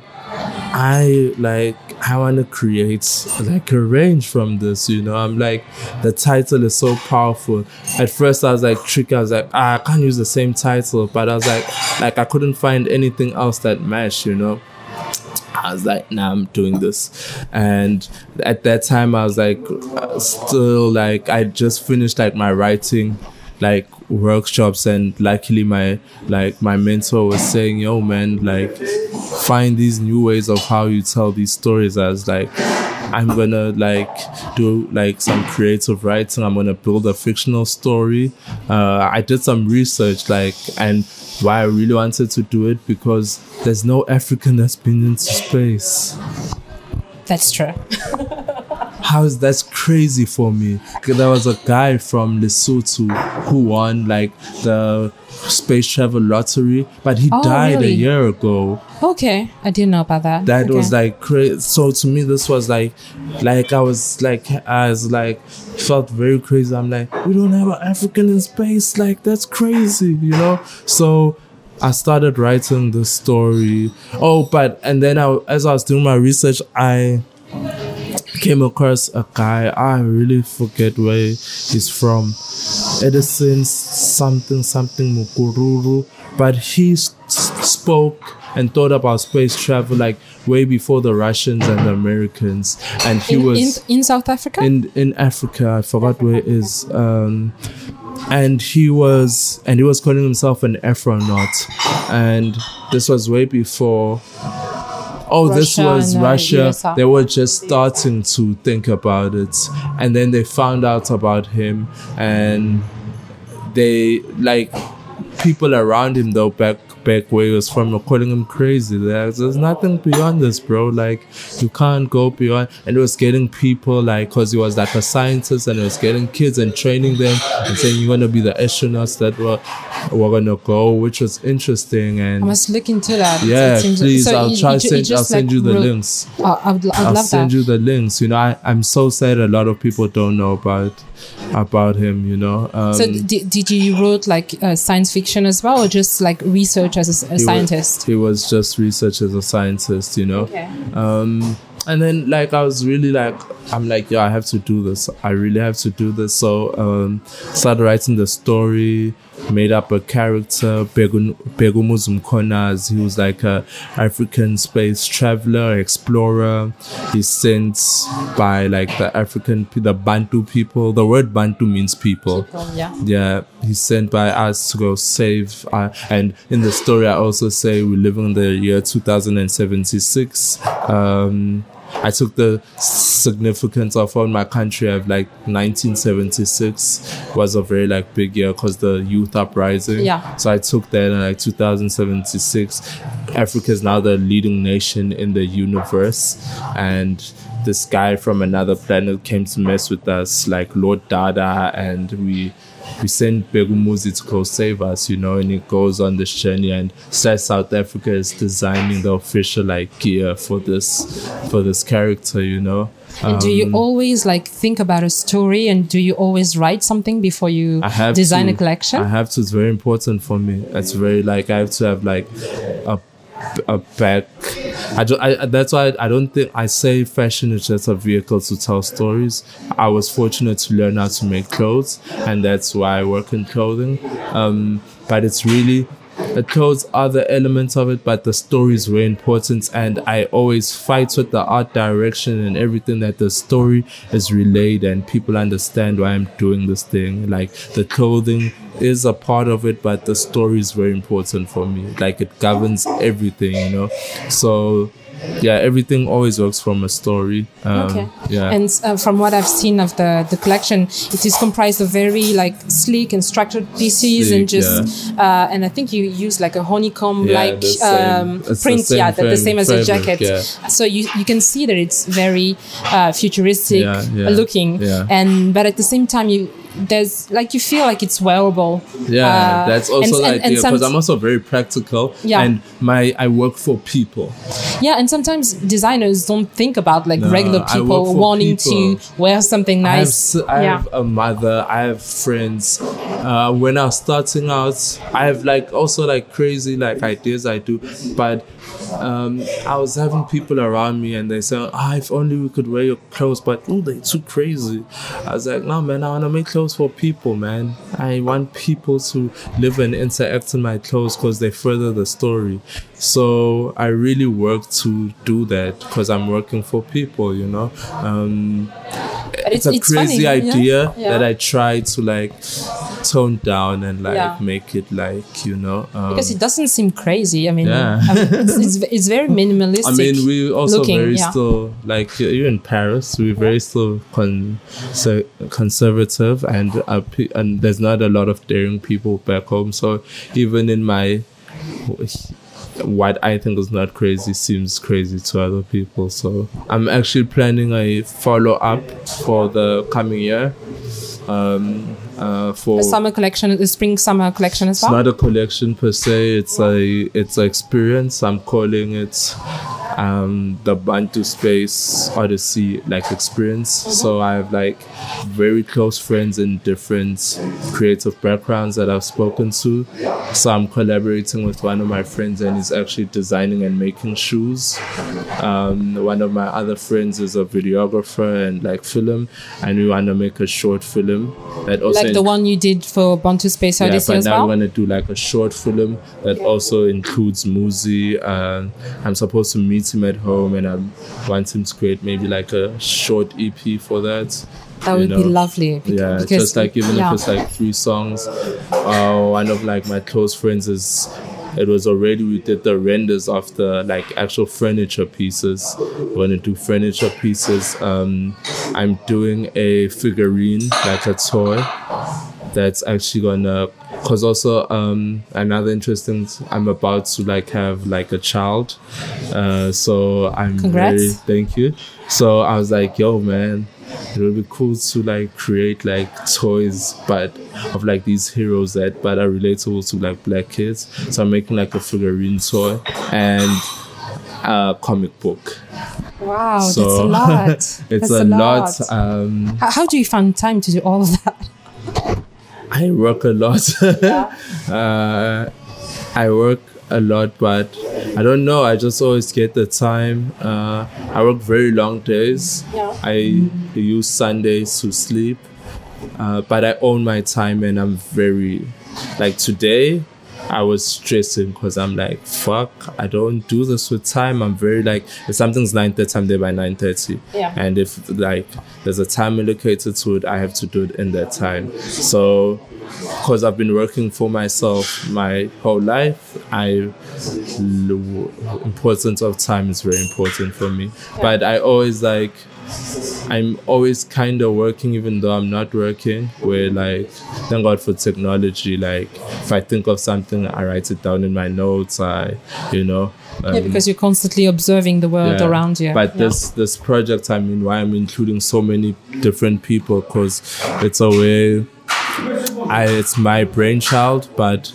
I want to create like a range from this, you know. I'm like, the title is so powerful. At first I was like tricky. I was like, I can't use the same title, but I was like I couldn't find anything else that matched, you know. I was like, nah, I'm doing this. And at that time, I was like, still like, I just finished like my writing, like workshops. And luckily my mentor was saying, yo man, like find these new ways of how you tell these stories. I was like, I'm gonna like do like some creative writing. I'm gonna build a fictional story. I did some research, like, and why I really wanted to do it, because there's no African that's been into space. That's true. That's crazy for me. There was a guy from Lesotho who won like the space travel lottery, but he died a year ago. Okay, I didn't know about that. That was like crazy. So to me, this was like I was like felt very crazy. I'm like, we don't have an African in space. Like that's crazy, you know. So I started writing the story. And then as I was doing my research, I came across a guy. I really forget where he's from. Edison something Mukururu. But he spoke and thought about space travel like way before the Russians and the Americans. And he was in South Africa? In Africa. I forgot where it is. And he was calling himself an Afronaut. And this was way before. This was Russia. USA. They were just starting to think about it. And then they found out about him. And they, like, people around him, though, back where he was from, were calling him crazy. There's nothing beyond this, bro. Like, you can't go beyond. And it was getting people, like, because he was like a scientist, and it was getting kids and training them and saying, you're going to be the astronauts that we're going to go, which was interesting. And I must look into that. Yeah, please. So I'll send you the links. I'll send you the links. You know, I'm so sad a lot of people don't know about him, you know. So did you wrote like science fiction as well, or just like research as a scientist? He was just research as a scientist, you know. Okay. And then like I was really like, I'm like, I have to do this. I really have to do this. So started writing the story, made up a character, Begumuzu Mkhonazi. He was like a African space traveler, explorer. He's sent by like the Bantu people. The word Bantu means people. Yeah. He's sent by us to go save. And in the story, I also say we live in the year 2076. I took the significance of on my country of like 1976 was a very like big year because the youth uprising. Yeah. So I took that in like 2076. Africa is now the leading nation in the universe, and this guy from another planet came to mess with us, like Lord Dada, and we sent Begumuzi to go save us, you know, and he goes on this journey, and South Africa is designing the official like gear for this character, you know. And do you always like think about a story, and do you always write something before you design a collection? I have to. It's very important for me. It's very like I have to have like a back. That's why I don't think I say fashion is just a vehicle to tell stories. I was fortunate to learn how to make clothes, and that's why I work in clothing. But it's really, the clothes are the elements of it, but the story is very important, and I always fight with the art direction and everything, that the story is relayed and people understand why I'm doing this thing. Like the clothing is a part of it, but the story is very important for me. Like it governs everything, you know. So yeah, everything always works from a story. Okay. Yeah. And from what I've seen of the collection, it is comprised of very like sleek and structured pieces, and just and I think you use like a honeycomb like print. Yeah, the same as a jacket. Yeah. So you can see that it's very futuristic looking, but at the same time there's like you feel like it's wearable. Yeah, that's also the idea, because I'm also very practical. Yeah. And I work for people. Yeah, and sometimes designers don't think about like regular people wanting to wear something nice. I have a mother, I have friends. When I was starting out, I have like also like crazy like ideas I do, but I was having people around me and they said, if only we could wear your clothes, but they're too crazy. I was like, no man, I want to make clothes for people, man. I want people to live and interact in my clothes because they further the story. So I really work to do that because I'm working for people, you know. It's a crazy idea that I try to like tone down and like make it like, you know, because it doesn't seem crazy. I mean, it's very minimalistic. I mean, we also looking, very still like you're in Paris. We're very still conservative, and there's not a lot of daring people back home. So even in my what I think is not crazy seems crazy to other people. So I'm actually planning a follow-up for the coming year. For a summer collection, the spring summer collection as well. It's not a collection per se. It's an experience. I'm calling it the Bantu Space Odyssey like experience. Mm-hmm. So I have like very close friends in different creative backgrounds that I've spoken to. So I'm collaborating with one of my friends, and he's actually designing and making shoes. One of my other friends is a videographer and like film, and we want to make a short film that also like the one you did for Bantu Space Odyssey as well. Yeah, but now we're going to do like a short film that also includes Muzi. I'm supposed to meet him at home, and I want him to create maybe like a short EP for that. That would be lovely. Because just like even if it's like 3 songs. One of like my close friends we did the renders of the like actual furniture pieces. We're gonna do furniture pieces. I'm doing a figurine, like a toy, that's actually gonna, cause also another interesting, I'm about to like have like a child. So I'm thank you. So I was like, yo man, it would be cool to like create like toys but of like these heroes that but are relatable to like black kids. So I'm making like a figurine toy and a comic book. Wow, so that's a lot. It's a lot. How do you find time to do all of that? I work a lot. I work a lot, but I don't know. I just always get the time. I work very long days. Yeah. I use Sundays to sleep, but I own my time, and I'm very, like today, I was stressing because I'm like, fuck, I don't do this with time. I'm very like, if something's 9:30, I'm there by 9:30. Yeah. And if like there's a time allocated to it, I have to do it in that time. So because I've been working for myself my whole life, importance of time is very important for me. Yeah. But I'm always kind of working even though I'm not working, where like, thank God for technology. Like if I think of something, I write it down in my notes, because you're constantly observing the world around you. But this project, why I'm including so many different people, because it's a way, it's my brainchild, but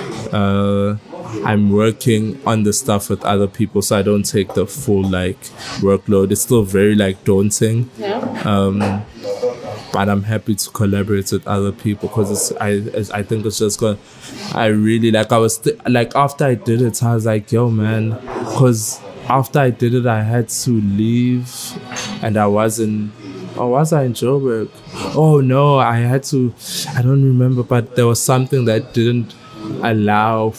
I'm working on the stuff with other people, so I don't take the full workload. It's still very daunting. Yeah. But I'm happy to collaborate with other people because I think it's just going. I really after I did it, I was like, yo, man, because after I did it, I had to leave, and I wasn't. Oh, was I in Joburg? Oh no, I had to. I don't remember, but there was something that didn't allow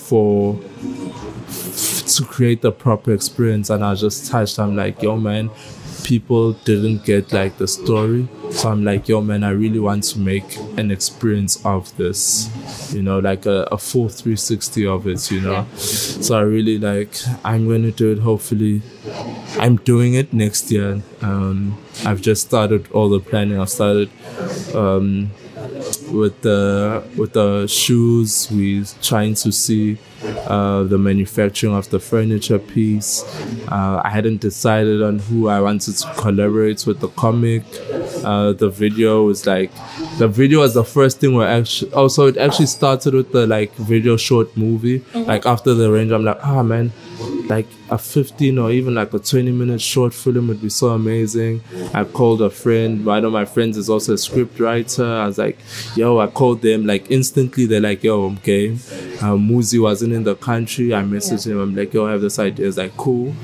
to create the proper experience, and I was just touched. I'm like, yo, man, people didn't get the story. So I'm like, yo, man, I really want to make an experience of this, a full 360 of it, Yeah. So I really I'm going to do it. Hopefully, I'm doing it next year. I've just started all the planning. I've started with the shoes. We're trying to see the manufacturing of the furniture piece. I hadn't decided on who I wanted to collaborate with the comic. The video was the first thing where it actually started with the video short movie. Mm-hmm. After the range, I'm like, man, a 15 or even a 20-minute short film would be so amazing. I called a friend. One of my friends is also a script writer. I was like, yo, I called them instantly. They're like, yo, I'm game. Muzi wasn't in the country. I messaged him. I'm like, yo, I have this idea. It's cool.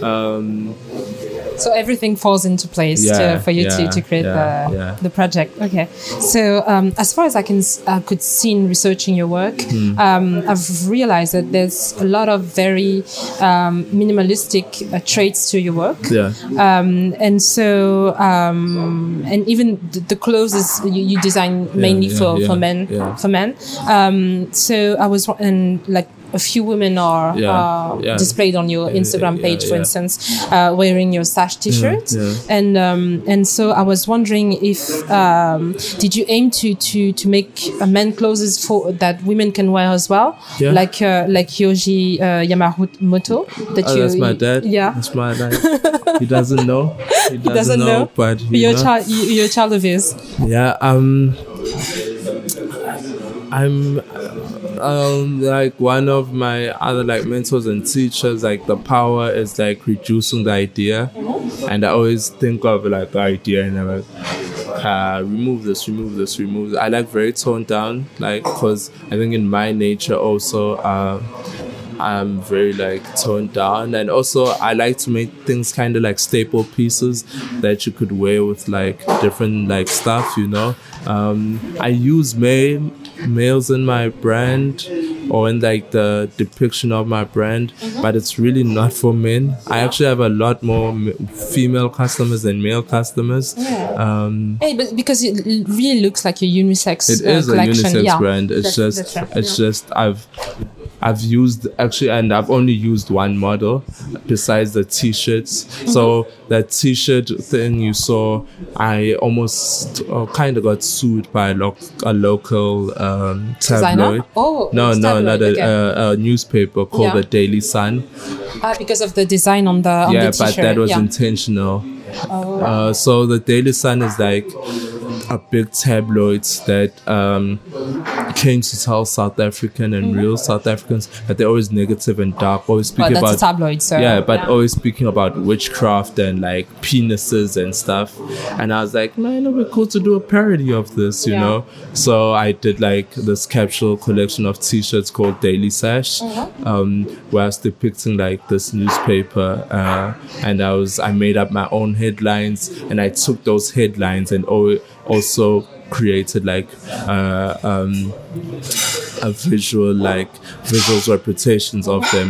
So everything falls into place for you to create the project. Okay. So as far as I could see in researching your work, I've realized that there's a lot of very minimalistic traits to your work. Yeah. And so and even the clothes you design mainly for men. Yeah. For men. So I was a few women are displayed on your Instagram page, for instance, wearing your Sash t-shirt, and so I was wondering if did you aim to make men clothes for that women can wear as well, like Yohji Yamamoto. That's my dad. Yeah, that's my dad. He doesn't know. He doesn't know, but you're a child of his. Yeah. I'm one of my other mentors and teachers, the power is reducing the idea. Mm-hmm. And I always think of the idea and I'm remove this. I very toned down, because I think in my nature also I'm very toned down, and also I like to make things kind of staple pieces that you could wear with different stuff, I use males in my brand or in the depiction of my brand, but it's really not for men. I actually have a lot more female customers than male customers. Yeah. But because it really looks like a unisex it is collection. A unisex brand. It's just I've used and I've only used one model besides the t-shirts. Mm-hmm. So that t-shirt thing you saw, I almost kind of got sued by a local tabloid. Oh, no, not a newspaper called the Daily Sun. Because of the design on the t-shirt. But that was intentional. Oh. So the Daily Sun is a big tabloid that came to tell South African and real South Africans that they're always negative and dark, always speaking about a tabloid, so always speaking about witchcraft and penises and stuff. And I was like, man, it'd be cool to do a parody of this, you know. So I did this capsule collection of t-shirts called Daily Sash, where I was depicting this newspaper, and I made up my own headlines, and I took those headlines and also created a visual visuals representations of them.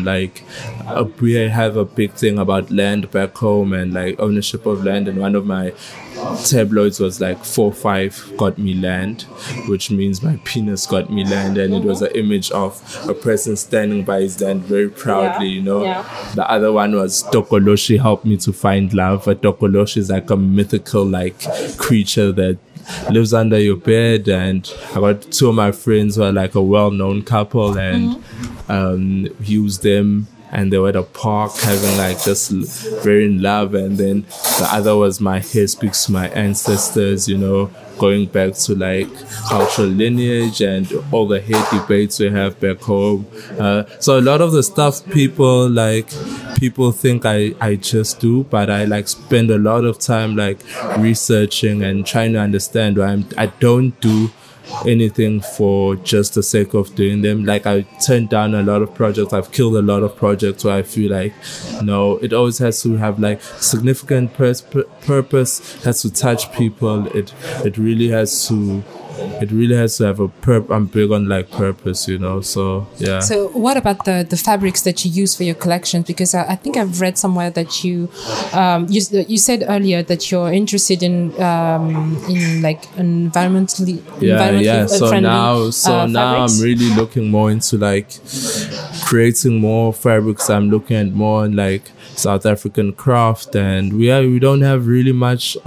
We have a big thing about land back home and ownership of land, and one of my tabloids was like 4-5 got me land, which means my penis got me land, and it was an image of a person standing by his land very proudly, you know. The other one was Tokoloshi helped me to find love. A Tokoloshi is like a mythical like creature that lives under your bed, and I got 2 of my friends who are like a well-known couple, and used them, and they were at a park having like just very in love. And then the other was my hair speaks to my ancestors, you know, going back to like cultural lineage and all the hate debates we have back home. So a lot of the stuff people think I just do, but I like spend a lot of time like researching and trying to understand why I don't do anything for just the sake of doing them. Like I turned down a lot of projects. I've killed a lot of projects where I feel like, no, it always has to have like significant purpose, has to touch people. It really has to have a I'm big on like purpose, you know. So yeah. So what about the fabrics that you use for your collections? Because I think I've read somewhere that you said earlier that you're interested in like environmentally friendly. So now I'm really looking more into like creating more fabrics. I'm looking at more like South African craft, and we don't have really much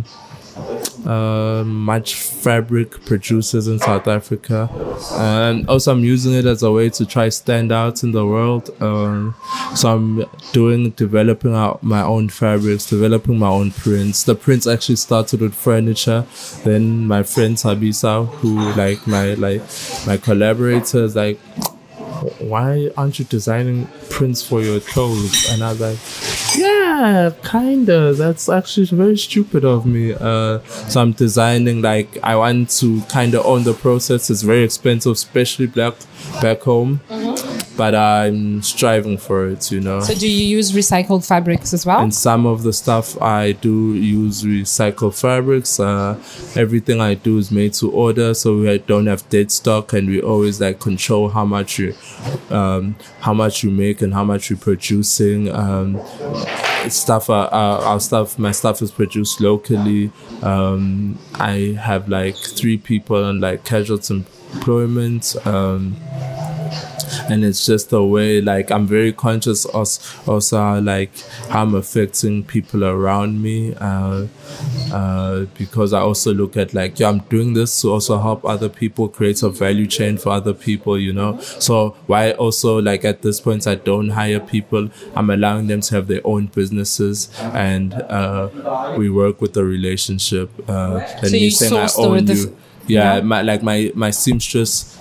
fabric producers in South Africa, and also I'm using it as a way to try stand out in the world. So I'm developing out my own fabrics, developing my own prints. The prints actually started with furniture. Then my friend Tabisa, who like my collaborators, like, why aren't you designing prints for your clothes? And I was like, yeah, kinda. That's actually very stupid of me. So I'm designing, like, I want to kind of own the process. It's very expensive, especially back home. But I'm striving for it, you know. So do you use recycled fabrics as well? And some of the stuff I do use recycled fabrics. Everything I do is made to order, so we don't have dead stock, and we always like control how much you make and how much you're producing. My stuff is produced locally. I have like 3 people on like casual employment. And it's just a way, like, I'm very conscious also like how I'm affecting people around me, because I also look at like, I'm doing this to also help other people, create a value chain for other people, you know. So why also, like, at this point I don't hire people, I'm allowing them to have their own businesses, and we work with the relationship. So you source the yeah, my seamstress,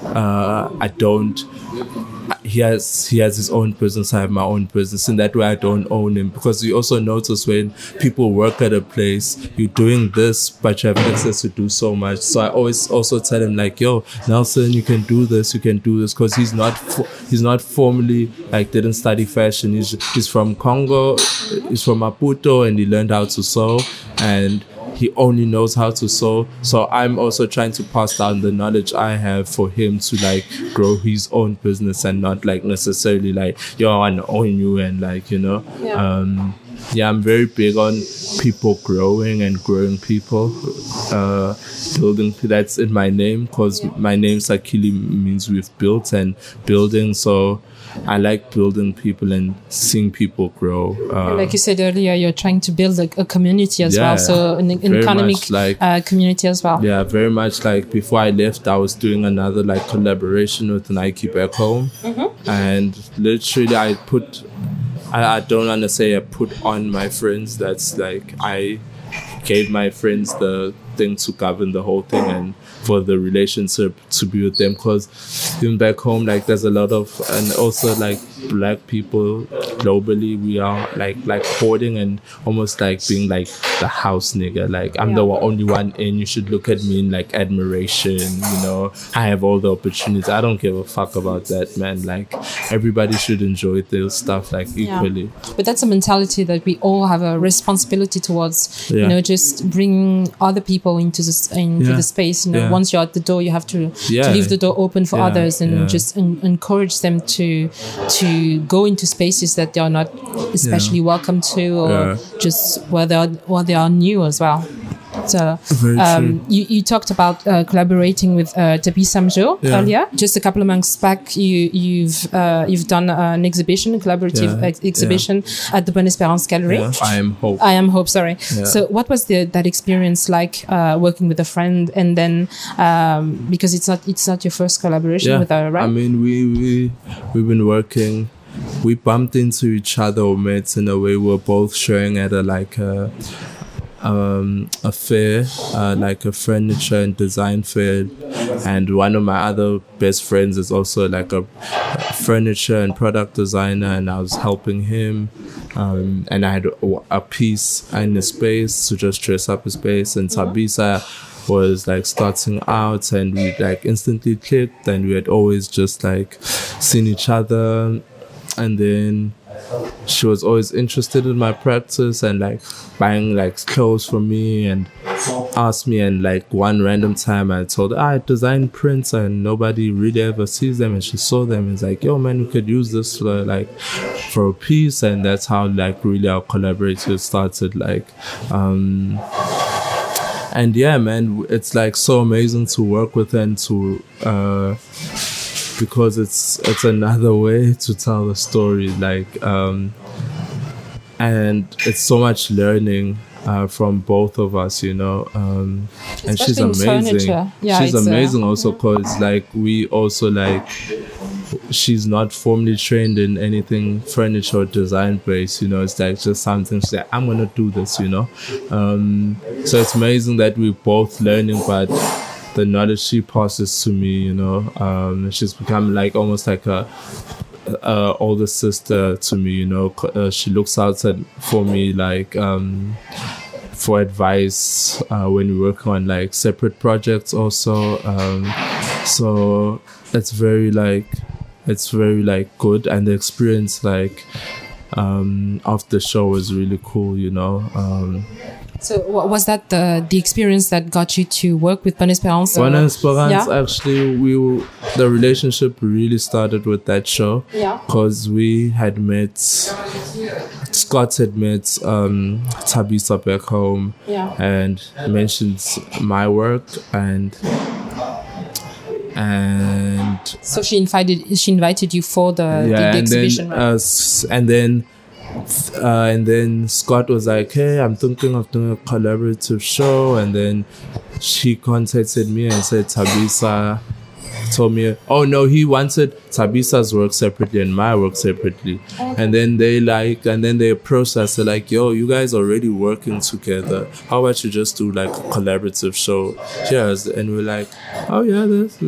he has his own business, I have my own business. In that way I don't own him, because you also notice when people work at a place, you're doing this but you have access to do so much. So I always also tell him like, yo, Nelson, you can do this, because he's not formally, like, didn't study fashion. He's from Congo, he's from Maputo, and he learned how to sew, and he only knows how to sew. So I'm also trying to pass down the knowledge I have for him to like grow his own business, and not like necessarily like, yo, I want to own you, and like, you know. I'm very big on people growing and growing people. Building, that's in my name, because my name Sakili means we've built, and building. So I like building people and seeing people grow. Like you said earlier, you're trying to build a community as well. So an economic community as well. Yeah, very much. Like before I left, I was doing another like collaboration with Nike back home. And literally I don't want to say I put on my friends. That's like, I gave my friends the thing to govern the whole thing, and for the relationship to be with them, because even back home, like, there's a lot of, and also like black people globally, we are like hoarding and almost like being like the house nigga. Like, I'm the only one in, you should look at me in like admiration, you know, I have all the opportunities. I don't give a fuck about that, man. Like, everybody should enjoy their stuff like equally. But that's a mentality that we all have a responsibility towards, you know, just bringing other people into the space, you know. Once you're at the door, you have to leave the door open for others, and just encourage them to go into spaces that they are not especially welcome to, or just where they are new as well. that you talked about collaborating with Thabisa Mjo earlier. Just a couple of months back, you've done an exhibition, a collaborative exhibition at the Bonne Espérance Gallery. I Am Hope. I Am Hope. Sorry. Yeah. So, what was that experience like working with a friend, and then because it's not your first collaboration with her, right? I mean, we've been working. We bumped into each other or met in a way. We're both showing at a fair, like a furniture and design fair, and one of my other best friends is also like a furniture and product designer, and I was helping him, and I had a piece in the space to just dress up his space, and Thabisa was like starting out, and we like instantly clicked, and we had always just like seen each other. And then she was always interested in my practice and like buying like clothes for me and asked me. And like one random time I told her I design prints and nobody really ever sees them. And she saw them and was like, yo man, we could use this for a piece. And that's how like really our collaboration started. And yeah, man, it's like so amazing to work with and to because it's another way to tell the story, and it's so much learning from both of us, you know. And she's amazing. She's amazing also because like we also like, she's not formally trained in anything furniture or design based, you know. It's like just something she's like, I'm gonna do this, you know. So it's amazing that we're both learning, but the knowledge she passes to me, you know, she's become like almost like a older sister to me, you know. She looks out for me like for advice when we work on like separate projects also. So it's very good, and the experience like of the show was really cool, you know. So was that the experience that got you to work with Bonne Espérance? Bonne Espérance, actually, the relationship really started with that show. Yeah. Because we had met, Scott had met Thabisa back home and mentioned my work and so she invited you for the exhibition, right? And then Scott was like, hey, I'm thinking of doing a collaborative show. And then she contacted me and said Thabisa told me, oh no, he wanted Thabisa's work separately and my work separately. Okay. And then they approached us, they're like, yo, you guys are already working together. How about you just do like a collaborative show? Cheers. And we're like, oh yeah, let's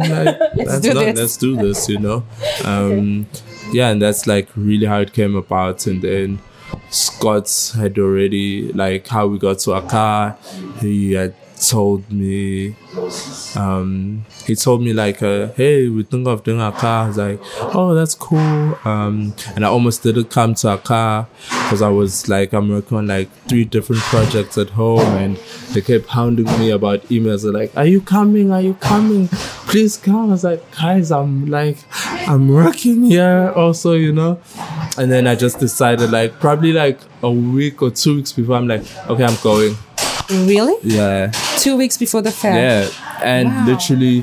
do this, you know. Yeah, and that's like really how it came about. And then Scott had already, like how we got to Accra, he had told me like, hey, we think of doing Accra. I was like, oh, that's cool. And I almost didn't come to Accra because I was like, I'm working on like 3 different projects at home, and they kept hounding me about emails. They're like, are you coming? Please come. I was like, guys, I'm working here also, you know. And then I just decided, like, probably like a week or 2 weeks before, I'm like, okay, I'm going. Really? Yeah. 2 weeks before the fair? Yeah. And literally,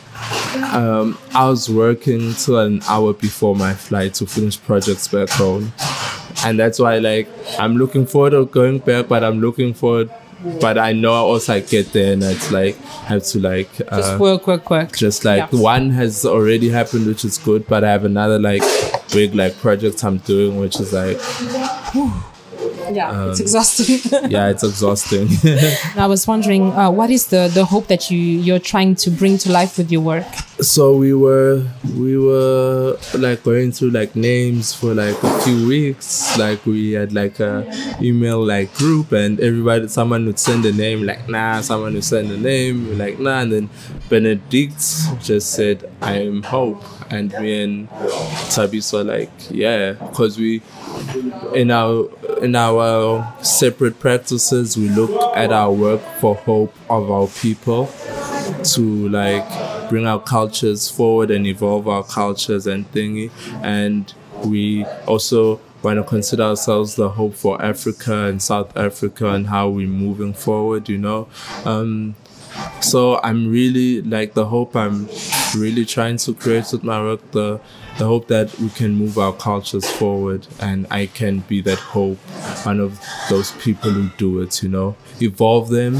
I was working till an hour before my flight to finish projects back home. And that's why, like, I'm looking forward to going back, but I know I also get there and it's like, I have to like... just work. Just like, one has already happened, which is good, but I have another like big like project I'm doing, which is like... Yeah, it's exhausting. Yeah, it's exhausting. I was wondering, what is the hope that you're trying to bring to life with your work? So we were like going through like names for like a few weeks. Like we had like a email like group, and someone would send a name, like nah, someone would send a name, we're like nah, and then Benedict just said I Am Hope, and me and Thabisa were like yeah, because we in our separate practices we look at our work for hope of our people, to like bring our cultures forward and evolve our cultures and thingy. And we also want to consider ourselves the hope for Africa and South Africa and how we're moving forward, you know. So I'm really, like, the hope I'm really trying to create with my work, the hope that we can move our cultures forward, and I can be that hope, one of those people who do it, you know. Evolve them,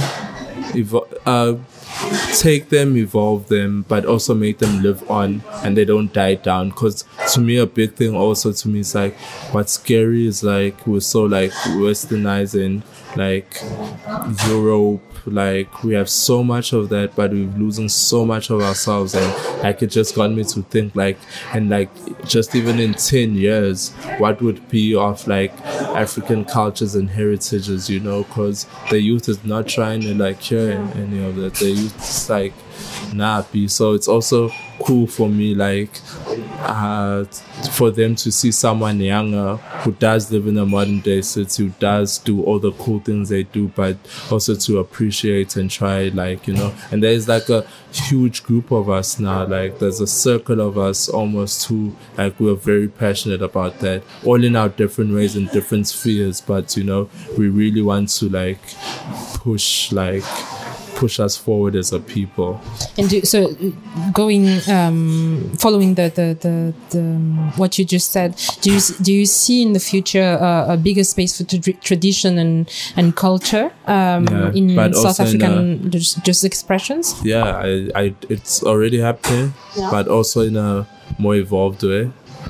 take them, evolve them, but also make them live on and they don't die down. Because to me, a big thing also to me is like, what's scary is like we're so like westernizing, like Europe, like we have so much of that, but we're losing so much of ourselves. And like it just got me to think like, and like just even in 10 years, what would be of like African cultures and heritages, you know, because the youth is not trying to like hear any of that. The youth is like nappy. So it's also cool for me, like for them to see someone younger who does live in a modern day city, who does do all the cool things they do, but also to appreciate and try, like, you know. And there's like a huge group of us now, like there's a circle of us almost who like we're very passionate about that, all in our different ways in different spheres, but you know, we really want to like push us forward as a people. And so going following the what you just said, do you see in the future a bigger space for tradition and culture in South African just expressions? Yeah, it's already happening, but also in a more evolved way,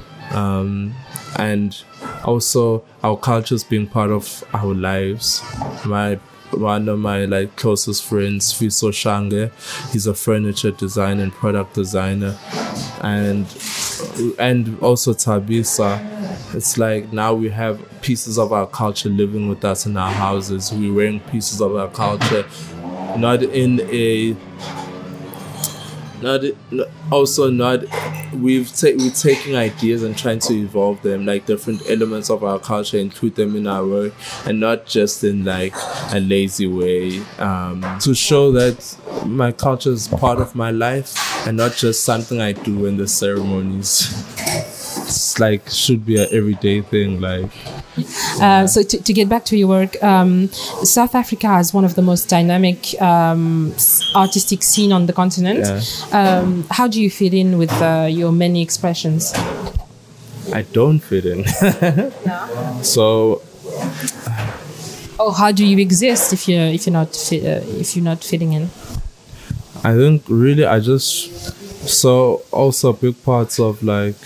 and also our cultures being part of our lives. One of my like closest friends, Fiso Shange, he's a furniture designer and product designer, and also Tabisa. It's like now we have pieces of our culture living with us in our houses. We're wearing pieces of our culture, we're taking ideas and trying to evolve them, like different elements of our culture, include them in our work, and not just in like a lazy way, to show that my culture is part of my life and not just something I do in the ceremonies. It's like should be an everyday thing, like. So to get back to your work, South Africa has one of the most dynamic artistic scene on the continent. Yeah. How do you fit in with your many expressions? I don't fit in. No. So. How do you exist if you're not fitting in? I think really so also big parts of like.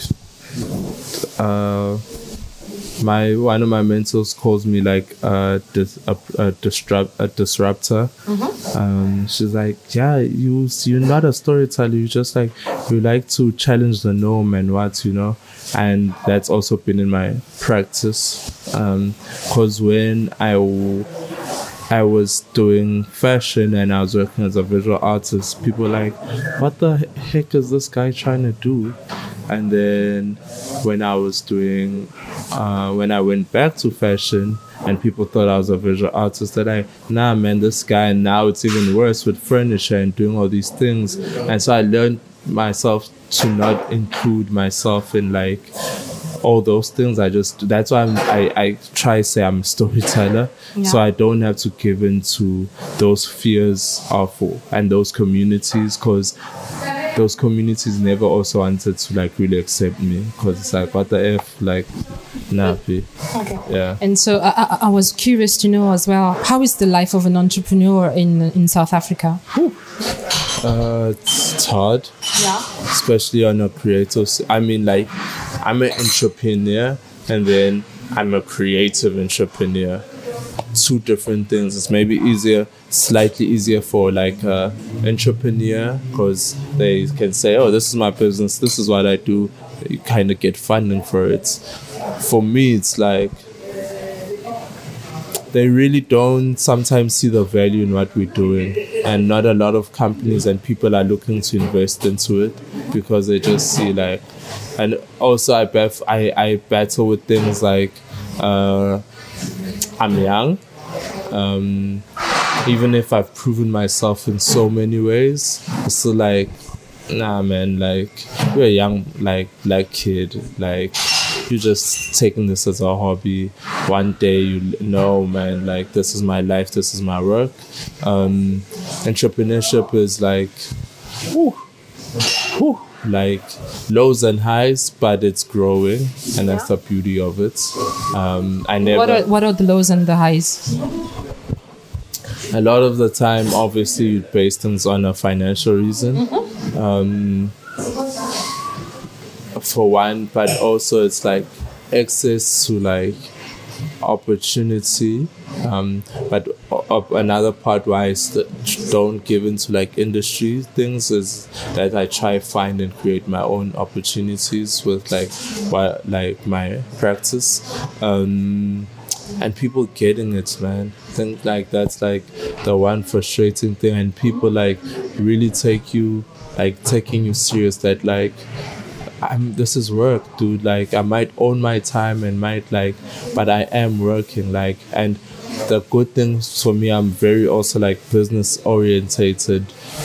One of my mentors calls me like a disruptor. Mm-hmm. She's like, yeah, you're not a storyteller. You just like you like to challenge the norm and what, you know. And that's also been in my practice. Because when I was doing fashion and I was working as a visual artist, people were like, what the heck is this guy trying to do? And then when I was doing, when I went back to fashion and people thought I was a visual artist, they're like, nah, man, this guy, and now it's even worse with furniture and doing all these things. And so I learned myself to not include myself in like all those things. That's why I try to say I'm a storyteller. Yeah. So I don't have to give in to those fears and those communities, because those communities never also wanted to like really accept me, because it's like, what the F, like, nappy. Okay. Yeah. And so I was curious to know as well, how is the life of an entrepreneur in South Africa? It's hard. Yeah. Especially on a creative. I mean, like, I'm an entrepreneur and then I'm a creative entrepreneur. Two different things. It's maybe slightly easier for like an entrepreneur, because they can say, oh, this is my business, this is what I do. You kind of get funding for it. For me, it's like they really don't sometimes see the value in what we're doing, and not a lot of companies and people are looking to invest into it, because they just see like. And also I battle with things like I'm young, even if I've proven myself in so many ways, it's still like, nah, man, like, you're a young, like, black kid, like, you're just taking this as a hobby. One day you know, man, like this is my life, this is my work. Entrepreneurship is like, like lows and highs, but it's growing, and that's the beauty of it. What are the lows and the highs? A lot of the time, obviously, you base things on a financial reason. For one, but also it's like access to like opportunity. But another part why I don't give into like industry things is that I try find and create my own opportunities with like my practice. And people getting it, man. I think like that's like the one frustrating thing, and people like really taking you serious, that like this is work, dude. Like I might own my time and but I am working, like. And the good thing for me, I'm very also like business orientated,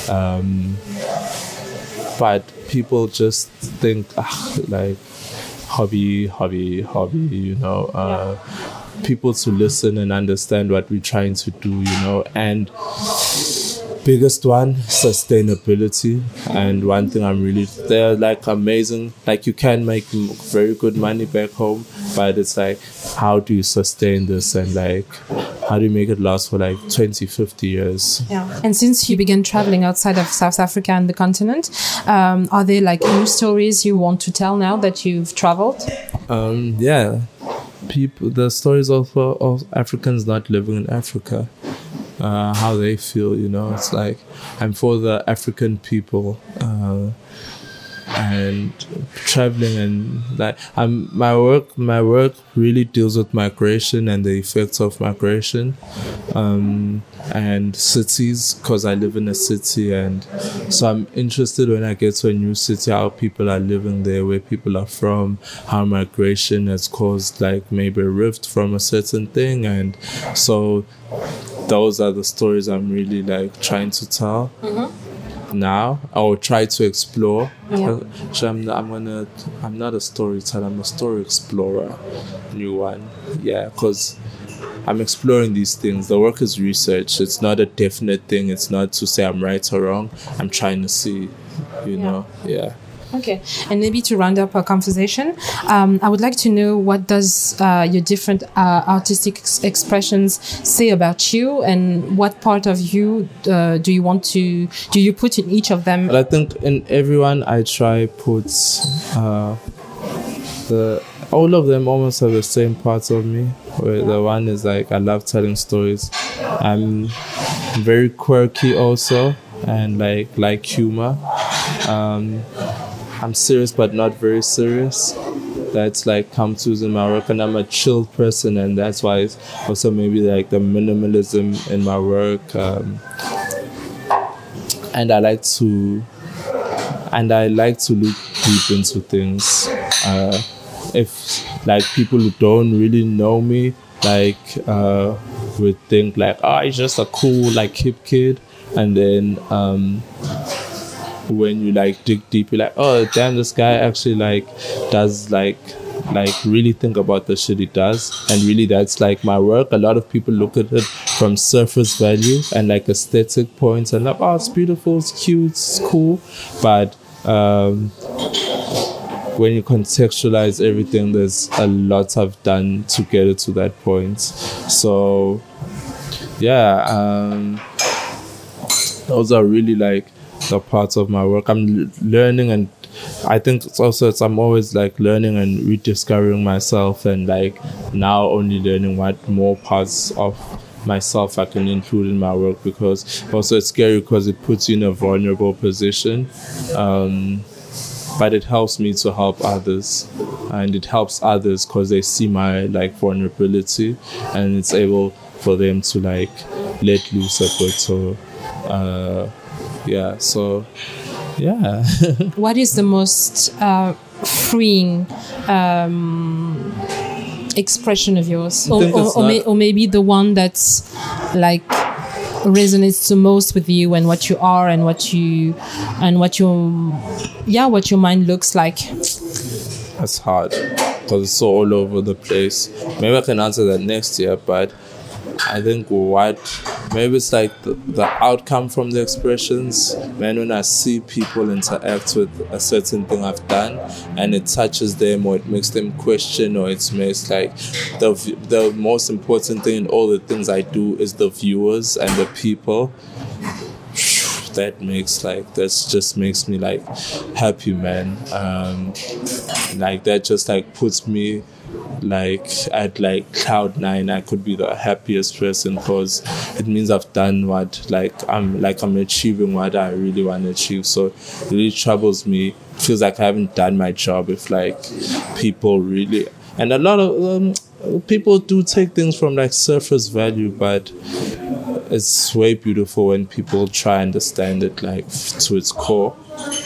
but people just think like hobby, you know. People to listen and understand what we're trying to do, you know. And biggest one, sustainability. And one thing they're like amazing, like you can make very good money back home, but it's like, how do you sustain this, and like how do you make it last for like 20-50 years? And since you began traveling outside of South Africa and the continent, are there like new stories you want to tell now that you've traveled? The stories of Africans not living in Africa, how they feel, you know. It's like I'm for the African people, and traveling, and like my work really deals with migration and the effects of migration, and cities, because I live in a city, and so I'm interested when I get to a new city how people are living there, where people are from, how migration has caused like maybe a rift from a certain thing, and so those are the stories I'm really like trying to tell. Now I will try to explore. So I'm not a storyteller, I'm a story explorer. New one, because I'm exploring these things. The work is research. It's not a definite thing. It's not to say I'm right or wrong. I'm trying to see, you know. Okay, and maybe to round up our conversation, I would like to know, what does your different artistic expressions say about you, and what part of you do you put in each of them? But I think in everyone I try put all of them almost have the same parts of me. Where the one is like I love telling stories. I'm very quirky also, and like humor. I'm serious but not very serious. That's like come to in my work, and I'm a chill person, and that's why it's also maybe like the minimalism in my work. And I like to look deep into things. If like people who don't really know me would think like, he's just a cool like hip kid, and then when you like dig deep, you're like, oh damn, this guy actually like does like really think about the shit he does, and really that's like my work. A lot of people look at it from surface value and like aesthetic points, and like, oh, it's beautiful, it's cute, it's cool, but when you contextualize everything, there's a lot I've done to get it to that point. So those are really like the parts of my work. I'm learning, and I think I'm always like learning and rediscovering myself, and like now only learning what more parts of myself I can include in my work, because also it's scary because it puts you in a vulnerable position, but it helps me to help others, and it helps others because they see my like vulnerability, and it's able for them to like let loose a bit. So What is the most freeing expression of yours, or maybe the one that's like resonates the most with you, and what you are, and what your mind looks like? That's hard. because it's so all over the place. Maybe I can answer that next year, but I think maybe it's like the outcome from the expressions. Man, when I see people interact with a certain thing I've done and it touches them or it makes them question, or it makes like the most important thing in all the things I do is the viewers and the people. That just makes me like happy, man. Like that just like puts me like at like cloud 9. I could be the happiest person because it means I've done what I'm achieving what I really want to achieve. So it really troubles me. It feels like I haven't done my job if like people really, and a lot of people do take things from like surface value, but it's way beautiful when people try and understand it like to its core.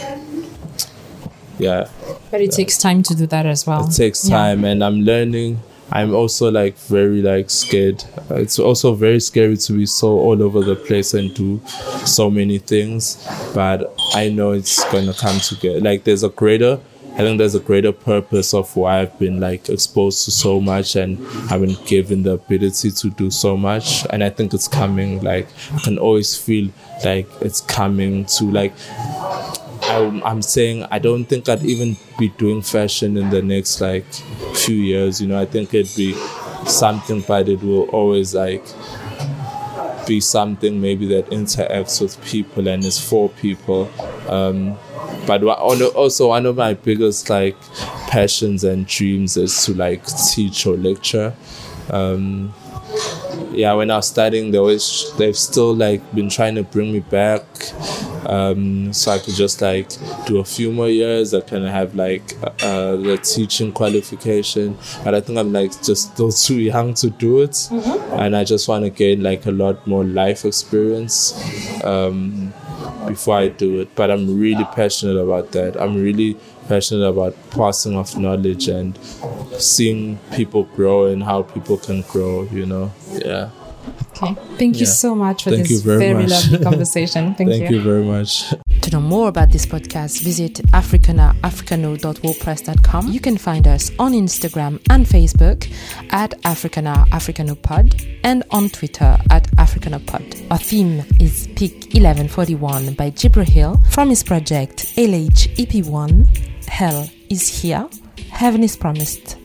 Yeah. But it takes time to do that as well. It takes time, and I'm learning. I'm also like very like scared. It's also very scary to be so all over the place and do so many things. But I know it's gonna come together. Like I think there's a greater purpose of why I've been like exposed to so much and I've been given the ability to do so much. And I think it's coming. Like I can always feel like it's coming to like. I'm saying I don't think I'd even be doing fashion in the next like few years. I think it'd be something, but it will always like be something maybe that interacts with people and is for people. But also one of my biggest like passions and dreams is to like teach or lecture. When I was studying, they've still like been trying to bring me back, so I could just like do a few more years. I can have like the teaching qualification, but I think I'm like just still too young to do it, and I just want to gain like a lot more life experience before I do it. But I'm really passionate about that. I'm really passionate about passing off knowledge and seeing people grow and how people can grow, Yeah. Okay. Thank you so much for this very lovely conversation. Thank you very much. To know more about this podcast, visit africana.wordpress.com. You can find us on Instagram and Facebook at africanapod and on Twitter at africanapod. Our theme is Peak 1141 by Jibril from his project LH EP1. Hell is here, heaven is promised.